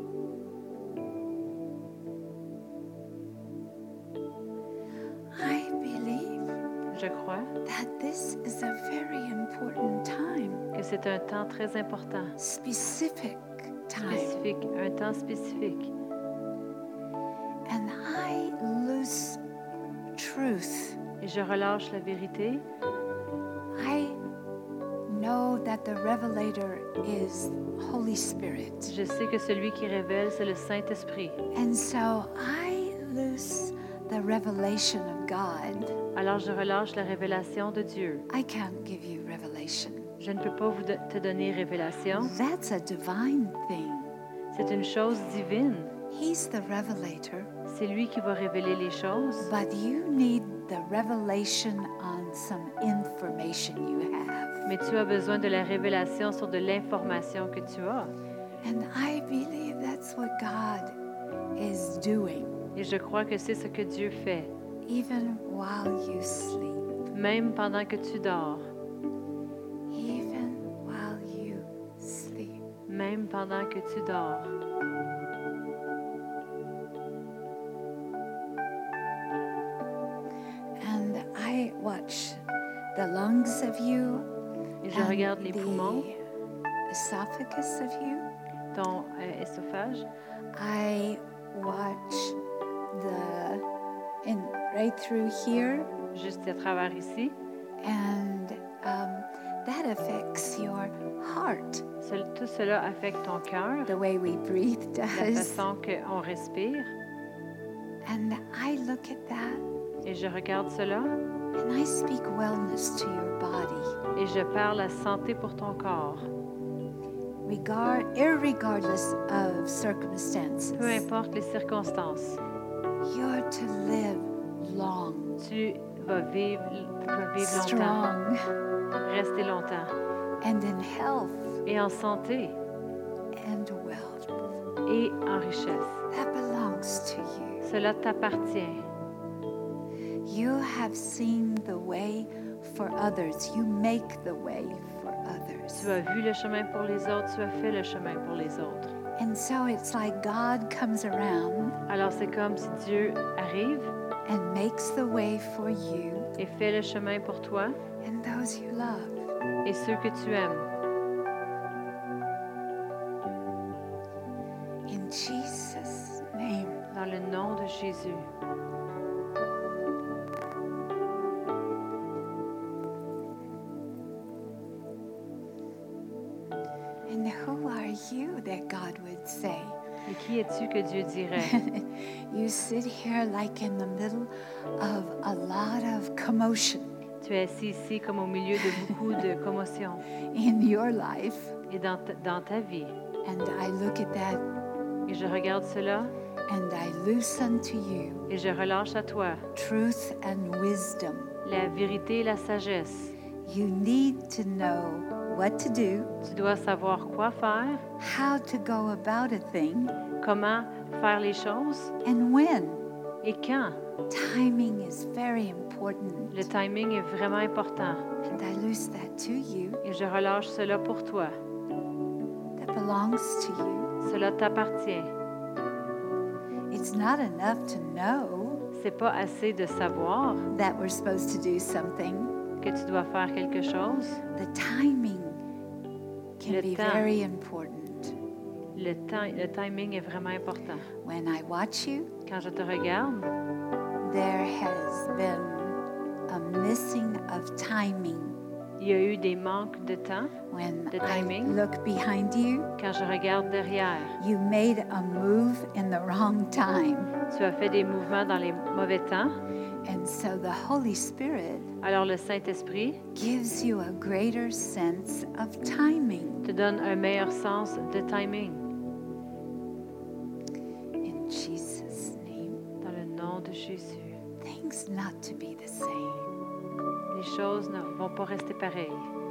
I believe Je crois that this is a very important time, que c'est un temps très important, specific time. spécifique, un temps spécifique. And I lose truth. Et je relâche la vérité. I know that the revelator is Holy Spirit. Je sais que celui qui révèle, c'est le Saint-Esprit. And so I lose the revelation of God. Alors je relâche la révélation de Dieu. I can't give you revelation. Je ne peux pas te donner révélation. That's a divine thing. C'est une chose divine. He's the revelator, C'est lui qui va révéler les choses. but you need the revelation on some information you have. Mais tu as besoin de la révélation sur de l'information que tu as. And I believe that's what God is doing, Et je crois que c'est ce que Dieu fait, even while you sleep. même pendant que tu dors. Even while you sleep. Même pendant que tu dors. And I watch the lungs of you, Et je regarde les poumons, the esophagus of you. ton œsophage. I watch right through here, Juste à travers ici. and that affects your heart. Tout cela affecte ton cœur, The way we breathe la does. façon qu'on respire. And I look at that Et je regarde cela and I speak wellness to your body, et je parle la santé pour ton corps. irregardless of circumstances. Peu importe les circonstances, You're to live long, tu vas vivre longtemps, strong, rester longtemps. and in health Et en santé and wealth. et en richesse. That belongs to you. Cela t'appartient. You have seen the way for others. You make the way for others. Tu as vu le chemin pour les autres, tu as fait le chemin pour les autres. And so it's like God comes around Alors c'est comme si Dieu arrive and makes the way for you et fait le chemin pour toi and those you love. et ceux que tu aimes. In Jesus' name. Dans le nom de Jésus. And who are you that God would say? Et qui es-tu que Dieu dirait? You sit here like in the middle of a lot of commotion. Tu es assis ici comme au milieu de beaucoup de commotions in your life. et dans ta vie. And I look at that Et je regarde cela and I loose unto you et je relâche à toi truth and wisdom. la vérité et la sagesse. You need to know what to do, Tu dois savoir quoi faire, how to go about a thing, comment faire les choses and when. et quand. Timing is very important. Le timing est vraiment important And I loose that to you. et je relâche cela pour toi. That belongs to you. Cela t'appartient. It's not enough to know C'est pas assez de savoir that we're supposed to do something. que tu dois faire quelque chose. The timing can Le be temps. very important. Le timing est vraiment important. When I watch you, Quand je te regarde, there has been a missing of timing. il y a eu des manques de temps. When The I timing. look behind you, Quand je regarde derrière, you made a move in the wrong time. tu as fait des mouvements dans les mauvais temps. And so the Holy Spirit Alors le Saint-Esprit gives you a greater sense of timing. te donne un meilleur sens de timing. In Jesus' name, Dans le nom de Jésus. things not to be the same. Les choses ne vont pas rester pareilles.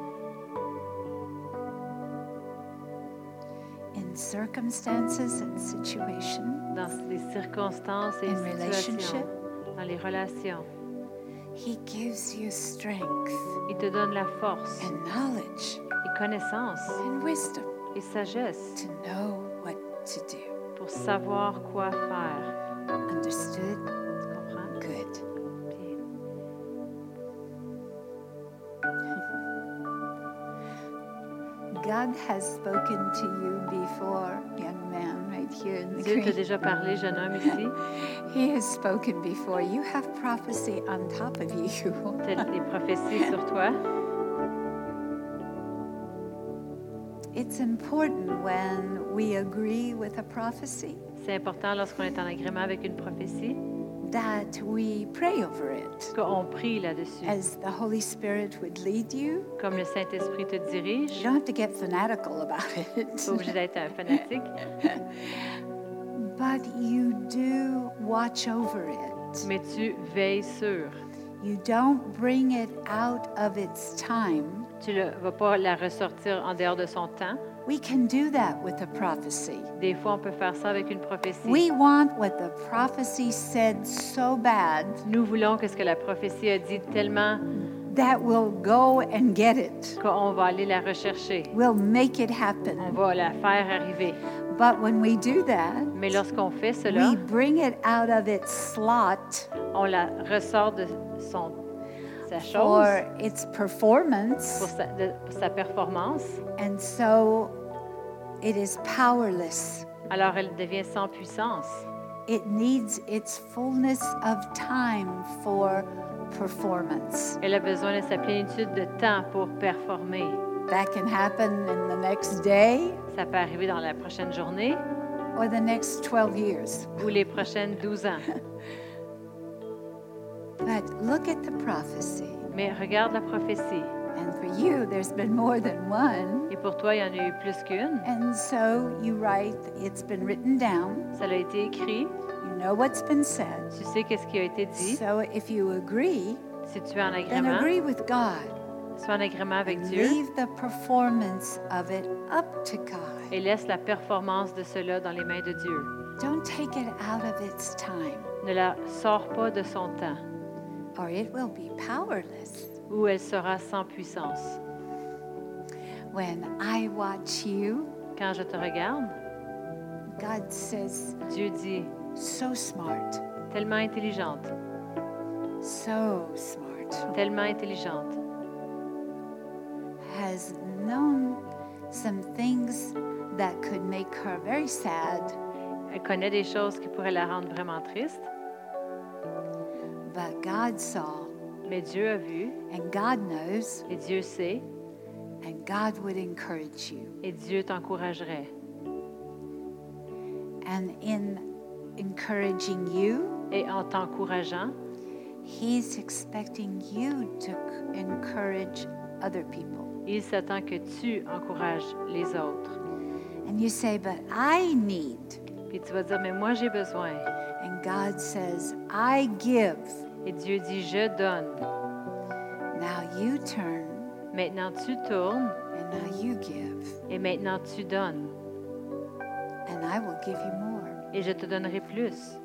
In circumstances and situations, Dans les circonstances et In situations, relationship. dans les relations, He gives you strength il te donne la force and knowledge et connaissance and wisdom et sagesse to know what to do. pour savoir quoi faire. Understood? Tu comprends? Good. Bien. God has spoken to you before, young man, right here in the Dieu t'a green. déjà parlé, jeune homme ici. He has spoken before. You have prophecy on top of you. Tu as des prophéties sur toi. It's important when we agree with a prophecy C'est important lorsqu'on est en agrément avec une prophétie that we pray over it qu'on prie là-dessus. as the Holy Spirit would lead you. Comme le Saint-Esprit te dirige, You don't have to get fanatical about tu it. n'es pas obligé d'être un fanatique, But you do watch over it. mais tu veilles sur. You don't bring it out of its time. Tu ne vas pas la ressortir en dehors de son temps. We can do that with a prophecy. Des fois, on peut faire ça avec une prophétie. We want what the prophecy said so bad Nous voulons que ce que la prophétie a dit tellement that we'll go and get it. qu'on va aller la rechercher. We'll make it On happen. va la faire arriver. But when we do that, Mais lorsqu'on fait cela, we bring it out of its slot on la ressort de sa chose for its performance, pour sa performance. and so it is powerless. Alors elle devient sans puissance. It needs its fullness of time for performance. Elle a besoin de sa plénitude de temps pour performer. That can happen in the next day Ça peut arriver dans la prochaine journée or the next 12 years. ou les prochaines 12 ans. But look at the prophecy. Mais regarde la prophétie. And for you, there's been more than one. Et pour toi, il y en a eu plus qu'une. And so you write, it's been written down. Ça a été écrit. You know what's been said. Tu sais qu'est-ce qui a été dit. So if you agree, Si tu es en then agrément, agree with God. sois en agrément avec And Dieu leave the performance of it up to God. et laisse la performance de cela dans les mains de Dieu. Don't take it out of its time, Ne la sors pas de son temps, or it will be powerless. ou elle sera sans puissance. When I watch you, Quand je te regarde, God says, Dieu dit, so smart, tellement intelligente, so smart, tellement intelligente. has known some things that could make her very sad, Elle connaît des choses qui pourraient la rendre vraiment triste, but God saw, mais Dieu a vu, and God knows, et Dieu sait, and God would encourage you. et Dieu t'encouragerait. And in encouraging you, Et en t'encourageant, He's expecting you to encourage other people. Il s'attend que tu encourages les autres. And you say, but I need. Puis tu vas dire, mais moi j'ai besoin. And God says, I give. Et Dieu dit, je donne. Now you turn. Maintenant tu tournes. And now you give. Et maintenant tu donnes. And I will give you more. Et je te donnerai plus.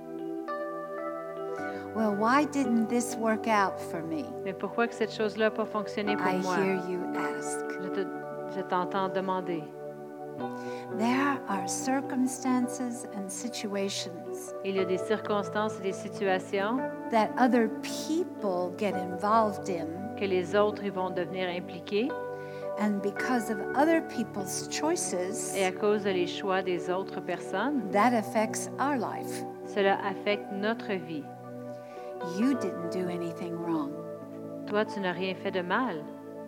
Well, why didn't this work out for me? Mais pourquoi que cette chose-là n'a pas fonctionné pour I moi? hear you ask. Je t'entends demander. There are circumstances and situations Il y a des circonstances et des situations that other people get involved in, que les autres ils vont devenir impliqués. and because of other people's choices, Et à cause des choix des autres personnes, that affects our life. cela affecte notre vie. You didn't do anything wrong. Toi, tu n'as rien fait de mal.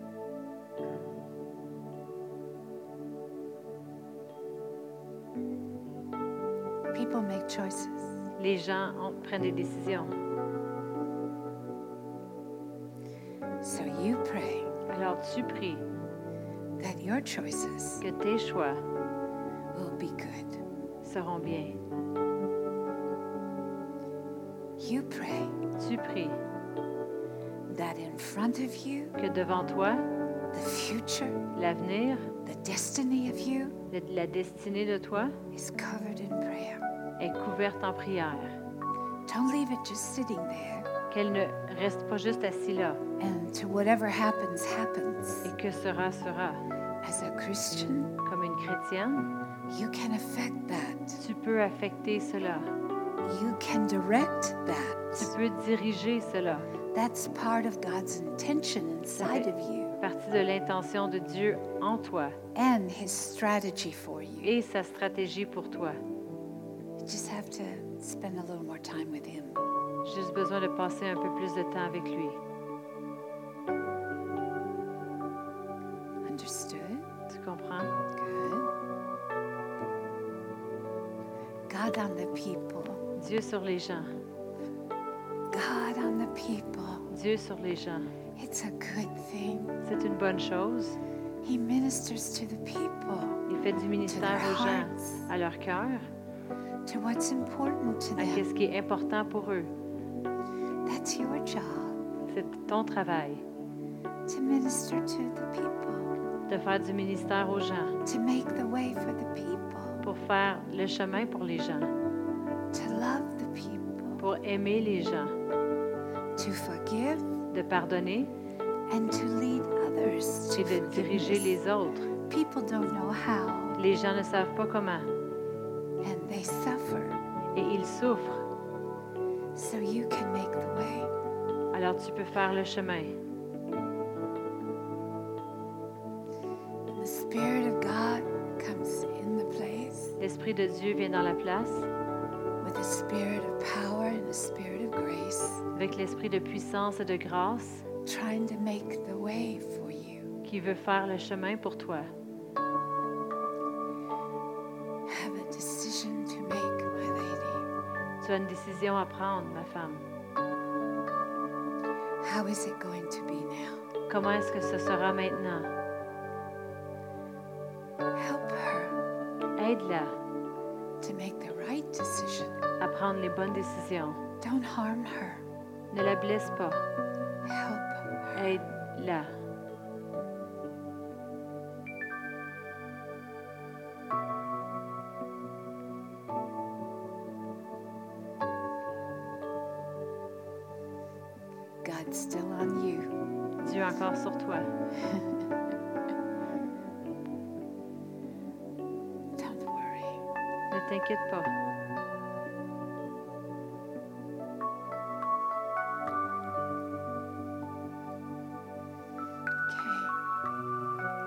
People make choices. Les gens prennent des décisions. So you pray Alors tu pries that your choices que tes choix will be good. seront bien. You pray Tu pries that in front of you, que devant toi, the future, l'avenir, the destiny of you la destinée de toi is covered in prayer. est couverte en prière. Don't leave it just sitting there. Qu'elle ne reste pas juste assis là And to whatever happens, happens. et que sera, sera. As a Christian, Comme une chrétienne, you can affect that. tu peux affecter cela. You can direct Tu that. peux diriger cela. That's part of God's intention inside of you Partie de l'intention de Dieu en toi and His strategy for you. et sa stratégie pour toi. You just have to spend a little more time with Him. J'ai juste besoin de passer un peu plus de temps avec lui. Understood? Tu comprends? Good. God on the people. Dieu sur les gens. God on the people. Dieu sur les gens. It's a good thing. C'est une bonne chose. He ministers to the people, Il fait du ministère aux gens, à leur cœur, to what's important to à them. ce qui est important pour eux. That's your job, C'est ton travail to minister to the people, de faire du ministère aux gens, to make the way for the people, pour faire le chemin pour les gens, to love the people, pour aimer les gens, to forgive, de pardonner and to lead others et to de diriger forgiveness. les autres. People don't know how, Les gens ne savent pas comment and they suffer, et ils souffrent. so you can make the way. Alors tu peux faire le chemin. The Spirit of God comes in the place L'Esprit de Dieu vient dans la place with a spirit of power and a spirit of grace, avec l'Esprit de puissance et de grâce trying to make the way for you. qui veut faire le chemin pour toi. Have a decision to make, my lady. Tu as une décision à prendre, ma femme. How is it going to be now? Comment est-ce que ce sera maintenant? Help her Aide-la to make the right decision. à prendre les bonnes décisions. Don't harm her. Ne la blesse pas. Help her. Aide-la. God's still on you. Dieu est encore sur toi. Don't worry. Ne t'inquiète pas. Okay.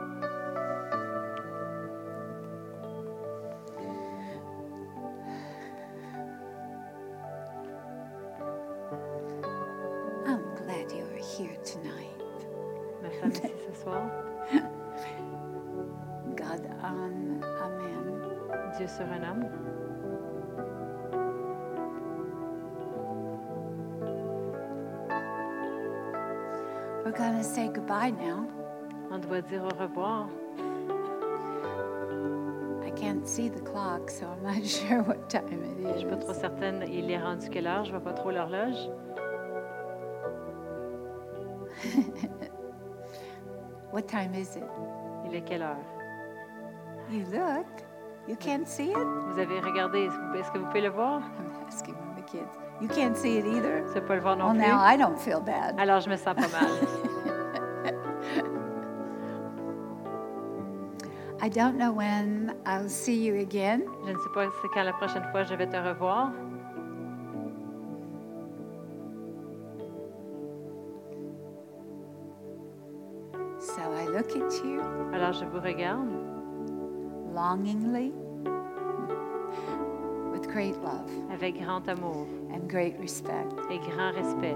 I'm glad you are here tonight. Ma femme ici ce soir. God on Amen. Dieu sur un homme. We're going to say goodbye now. On doit dire au revoir. I can't see the clock, so I'm not sure what time it Je suis pas trop is. certaine, il est rendu quelle heure? Je vois pas trop l'horloge. What time is it? Il est quelle heure? You look. You can't see it? Vous avez regardé, est-ce que vous pouvez le voir? I'm asking the kids. You can't see it either? Vous ne pouvez pas le voir non Well, plus? now I don't feel bad. Alors, je me sens pas mal. I don't know when I'll see you again. Je ne sais pas c'est quand la prochaine fois je vais te revoir. So I look at you Alors, je vous regarde longingly with great love avec grand amour and great respect. et grand respect.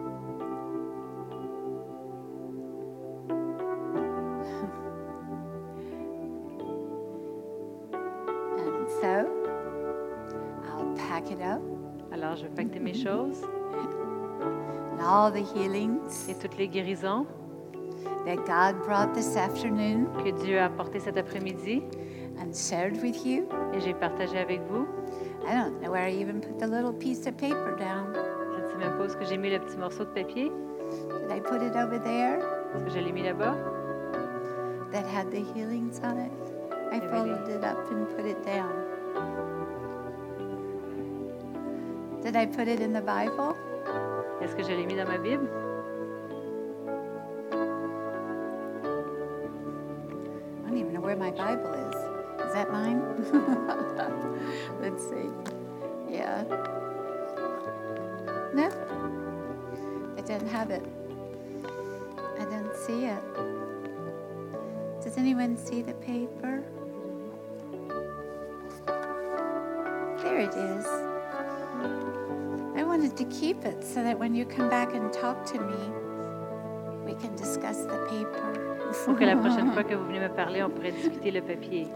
And so I'll pack it up Alors, je vais pacter mes choses and all the healings et toutes les guérisons that God brought this afternoon que Dieu a apportées cet après-midi and shared with you. et j'ai partagé avec vous. I don't know where I even put the little piece of paper down. Je ne sais même pas où est-ce que j'ai mis le petit morceau de papier. Did I put it over there Est-ce que je l'ai mis là-bas? that had the healings on it? I Really? folded it up and put it down. Did I put it in the Bible? Est-ce que je l'ai mis dans ma Bible? I don't even know where my Bible is. Is that mine? Let's see. Yeah. No. I didn't have it. I didn't see it. Does anyone see the paper? There it is. I wanted to keep it so that when you come back and talk to me, we can discuss the paper. Pour que la prochaine fois que vous venez me parler, on pourrait discuter le papier.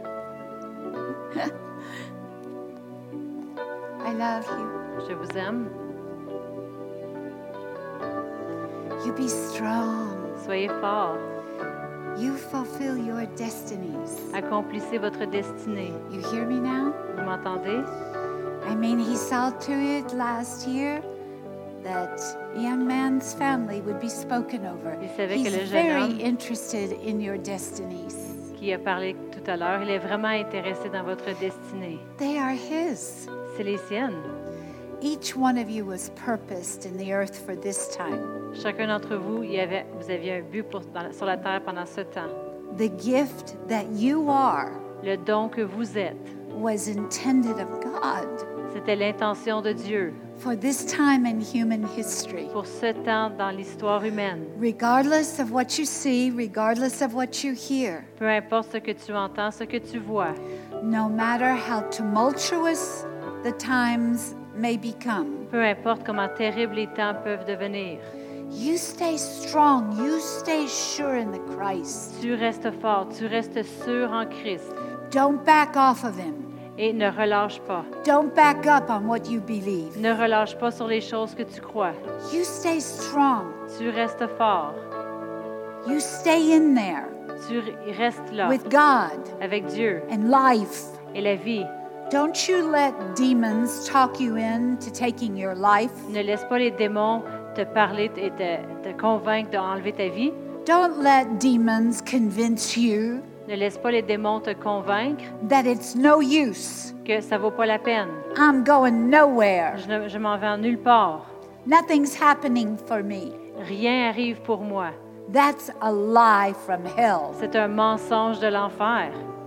I love you. Je vous aime. You be strong. Soyez forts. You fulfill your destinies. Accomplissez votre destinée. You hear me now? Vous m'entendez? I mean, he saw to it last year that a young man's family would be spoken over. Il savait He's que le jeune very homme interested in your destinies. qui a parlé tout à l'heure, il est vraiment intéressé dans votre destinée. They are his. C'est les siennes. Each one of you was purposed in the earth for this time. Chacun d'entre vous, vous aviez un but sur la terre pendant ce temps. The gift that you are Le don que vous êtes, was intended of God c'était l'intention de Dieu for this time in human history. pour ce temps dans l'histoire humaine. Regardless of what you see, regardless of what you hear, Peu importe ce que tu entends, ce que tu vois, no matter how tumultuous the times may become, peu importe comment terribles les temps peuvent devenir, you stay strong, you stay sure in the Christ. tu restes fort, tu restes sûr en Christ Don't back off of Him. et ne relâche pas. Don't back up on what you believe. Ne relâche pas sur les choses que tu crois. You stay strong. Tu restes fort. You stay in there Tu restes là with God avec Dieu and life. et la vie. Don't you let demons talk you into taking your life. Ne laisse pas les démons te parler et te convaincre d'enlever ta vie. Don't let demons convince you Ne laisse pas les démons te convaincre that it's no use. que ça vaut pas la peine. I'm going nowhere. Je m'en vais en nulle part. Nothing's happening for me. Rien arrive pour moi. That's a lie from hell. C'est un mensonge de l'enfer.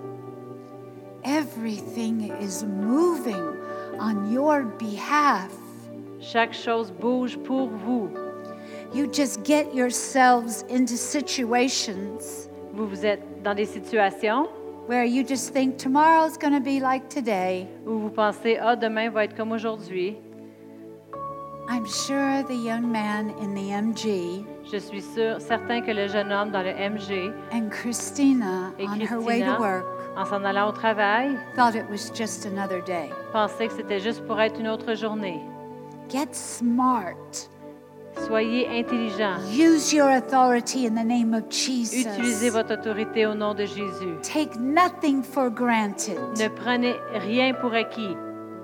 Everything is moving on your behalf. Chaque chose bouge pour vous. You just get yourselves into situations Vous êtes dans des situations where you just think tomorrow's going to be like today. où vous pensez, demain va être comme aujourd'hui. I'm sure the young man in the MG Je suis certain que le jeune homme dans le MG and Christina et on her way to Christina, work en s'en allant au travail, thought it was just another day. pensaient que c'était juste pour être une autre journée. Get smart. Soyez intelligents. Use your authority in the name of Utilisez Jesus. votre autorité au nom de Jésus. Take nothing for granted. Ne prenez rien pour acquis.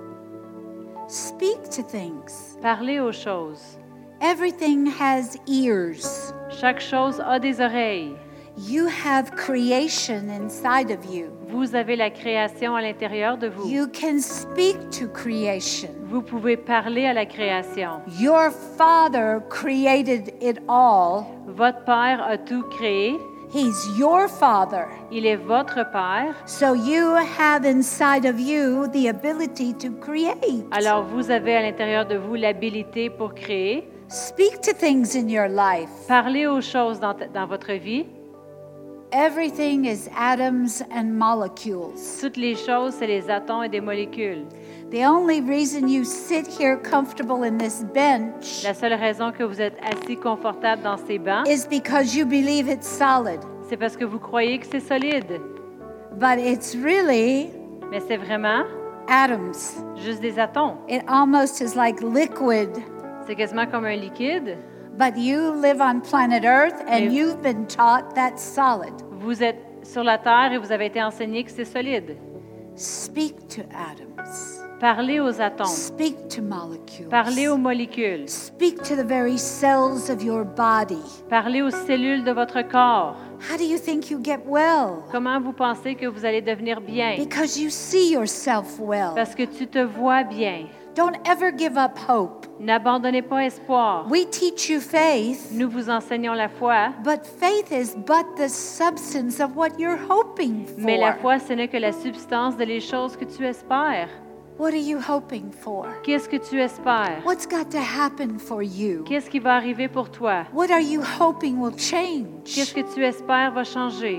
Speak to things. Parlez aux choses. Everything has ears. Chaque chose a des oreilles. You have creation inside of you. Vous avez la création à l'intérieur de vous. You can speak to creation. Vous pouvez parler à la création. Your Father created it all. Votre Père a tout créé. He's your Father. Il est votre Père. So you have inside of you the ability to create. Alors vous avez à l'intérieur de vous l'habilité pour créer. Speak to things in your life. Parlez aux choses dans votre vie. Everything is atoms and molecules. Toutes les choses, c'est les atomes et des molécules. The only reason you sit here comfortable in this bench La seule raison que vous êtes assis confortable dans ces bancs, is because you believe it's solid. c'est parce que vous croyez que c'est solide. But it's really Mais c'est vraiment atoms. juste des atomes. It almost is like liquid. C'est quasiment comme un liquide. But you live on planet Earth and Mais- you've been taught that's solid. Vous êtes sur la terre et vous avez été enseigné que c'est solide. Speak to atoms. Parlez aux atomes. Speak to molecules. Parlez aux molécules. Speak to the very cells of your body. Parlez aux cellules de votre corps. How do you think you get well? Comment vous pensez que vous allez devenir bien? Because you see yourself well. Parce que tu te vois bien. Don't ever give up hope. N'abandonnez pas espoir. We teach you faith, Nous vous enseignons la foi, but faith is but the substance of what you're hoping mais la for. foi, ce n'est que la substance de les choses que tu espères. What are you hoping for? Qu'est-ce que tu espères? What's got to happen for you? Qu'est-ce qui va arriver pour toi? What are you hoping will change? Qu'est-ce que tu espères va changer?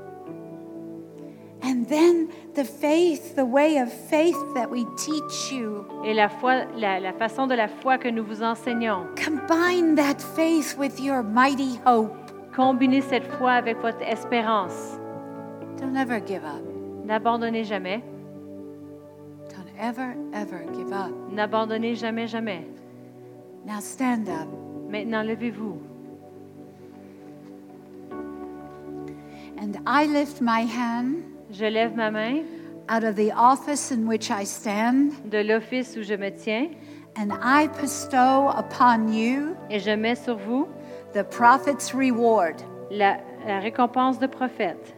And then the faith, the way of faith that we teach you, Et la foi, la façon de la foi que nous vous enseignons, combine that faith with your mighty hope. combinez cette foi avec votre espérance. Don't ever give up. N'abandonnez jamais. Don't ever, ever give up. N'abandonnez jamais, jamais. Now stand up. Maintenant, levez-vous. And I lift my hand Je lève ma main out of the office in which I stand, de l'office où je me tiens and I bestow upon you et je mets sur vous the prophet's reward. la récompense de prophète.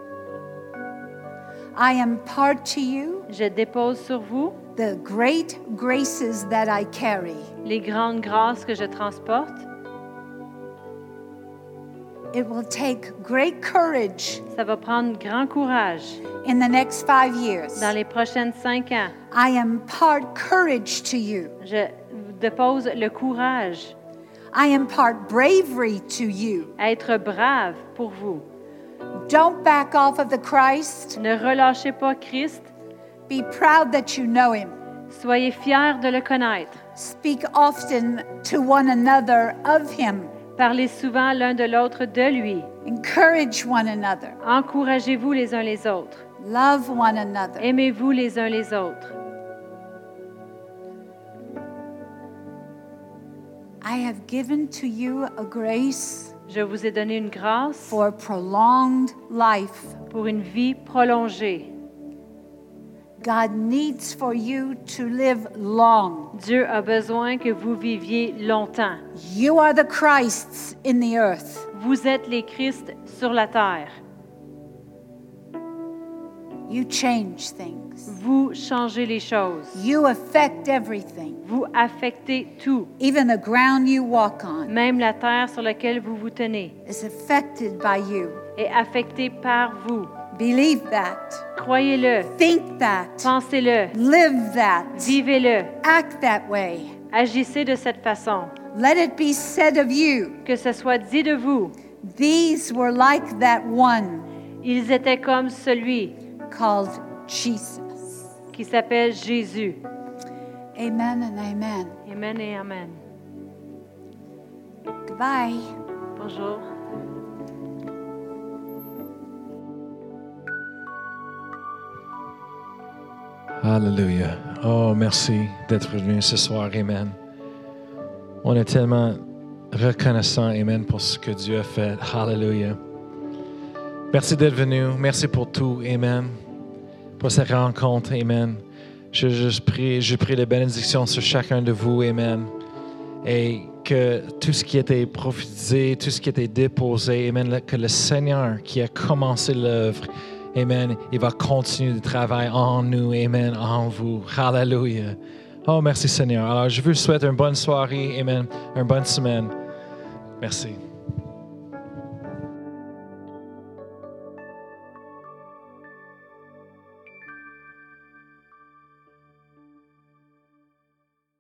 I impart to you Je dépose sur vous the great graces that I carry. les grandes grâces que je transporte. It will take great courage Ça va prendre grand courage in the next 5 years. dans les prochaines 5 ans. I impart courage to you. Je dépose le courage I impart bravery to you. à être brave pour vous. Don't back off of the Christ. Ne relâchez pas Christ. Be proud that you know him. Soyez fiers de le connaître. Speak often to one another of him. Parlez souvent l'un de l'autre de lui. Encourage one another. Encouragez-vous les uns les autres. Love one another. Aimez-vous les uns les autres. I have given to you a grace Je vous ai donné une grâce for prolonged life. pour une vie prolongée. God needs for you to live long. Dieu a besoin que vous viviez longtemps. You are the Christs in the earth. Vous êtes les Christ sur la terre. You change things. Vous changez les choses. You affect everything, Vous affectez tout. even the ground you walk on Même la terre sur laquelle vous vous tenez is affected by you. est affectée par vous. Believe that. Croyez-le. Think that. Pensez-le. Live that. Vivez-le. Act that way. Agissez de cette façon. Let it be said of you, Que ce soit dit de vous. these were like that one Ils étaient comme celui called Jesus. qui s'appelle Jésus. Amen and amen. Amen et amen. Goodbye. Bonjour. Hallelujah. Oh, merci d'être venu ce soir. Amen. On est tellement reconnaissants, Amen, pour ce que Dieu a fait. Hallelujah. Merci d'être venu. Merci pour tout, Amen. Pour cette rencontre, Amen. Je prie les bénédictions sur chacun de vous, Amen. Et que tout ce qui était prophétisé, tout ce qui était déposé, Amen, que le Seigneur qui a commencé l'œuvre, Amen, il va continuer de travailler en nous, Amen, en vous. Hallelujah. Oh, merci Seigneur. Alors, je vous souhaite une bonne soirée, Amen, une bonne semaine. Merci.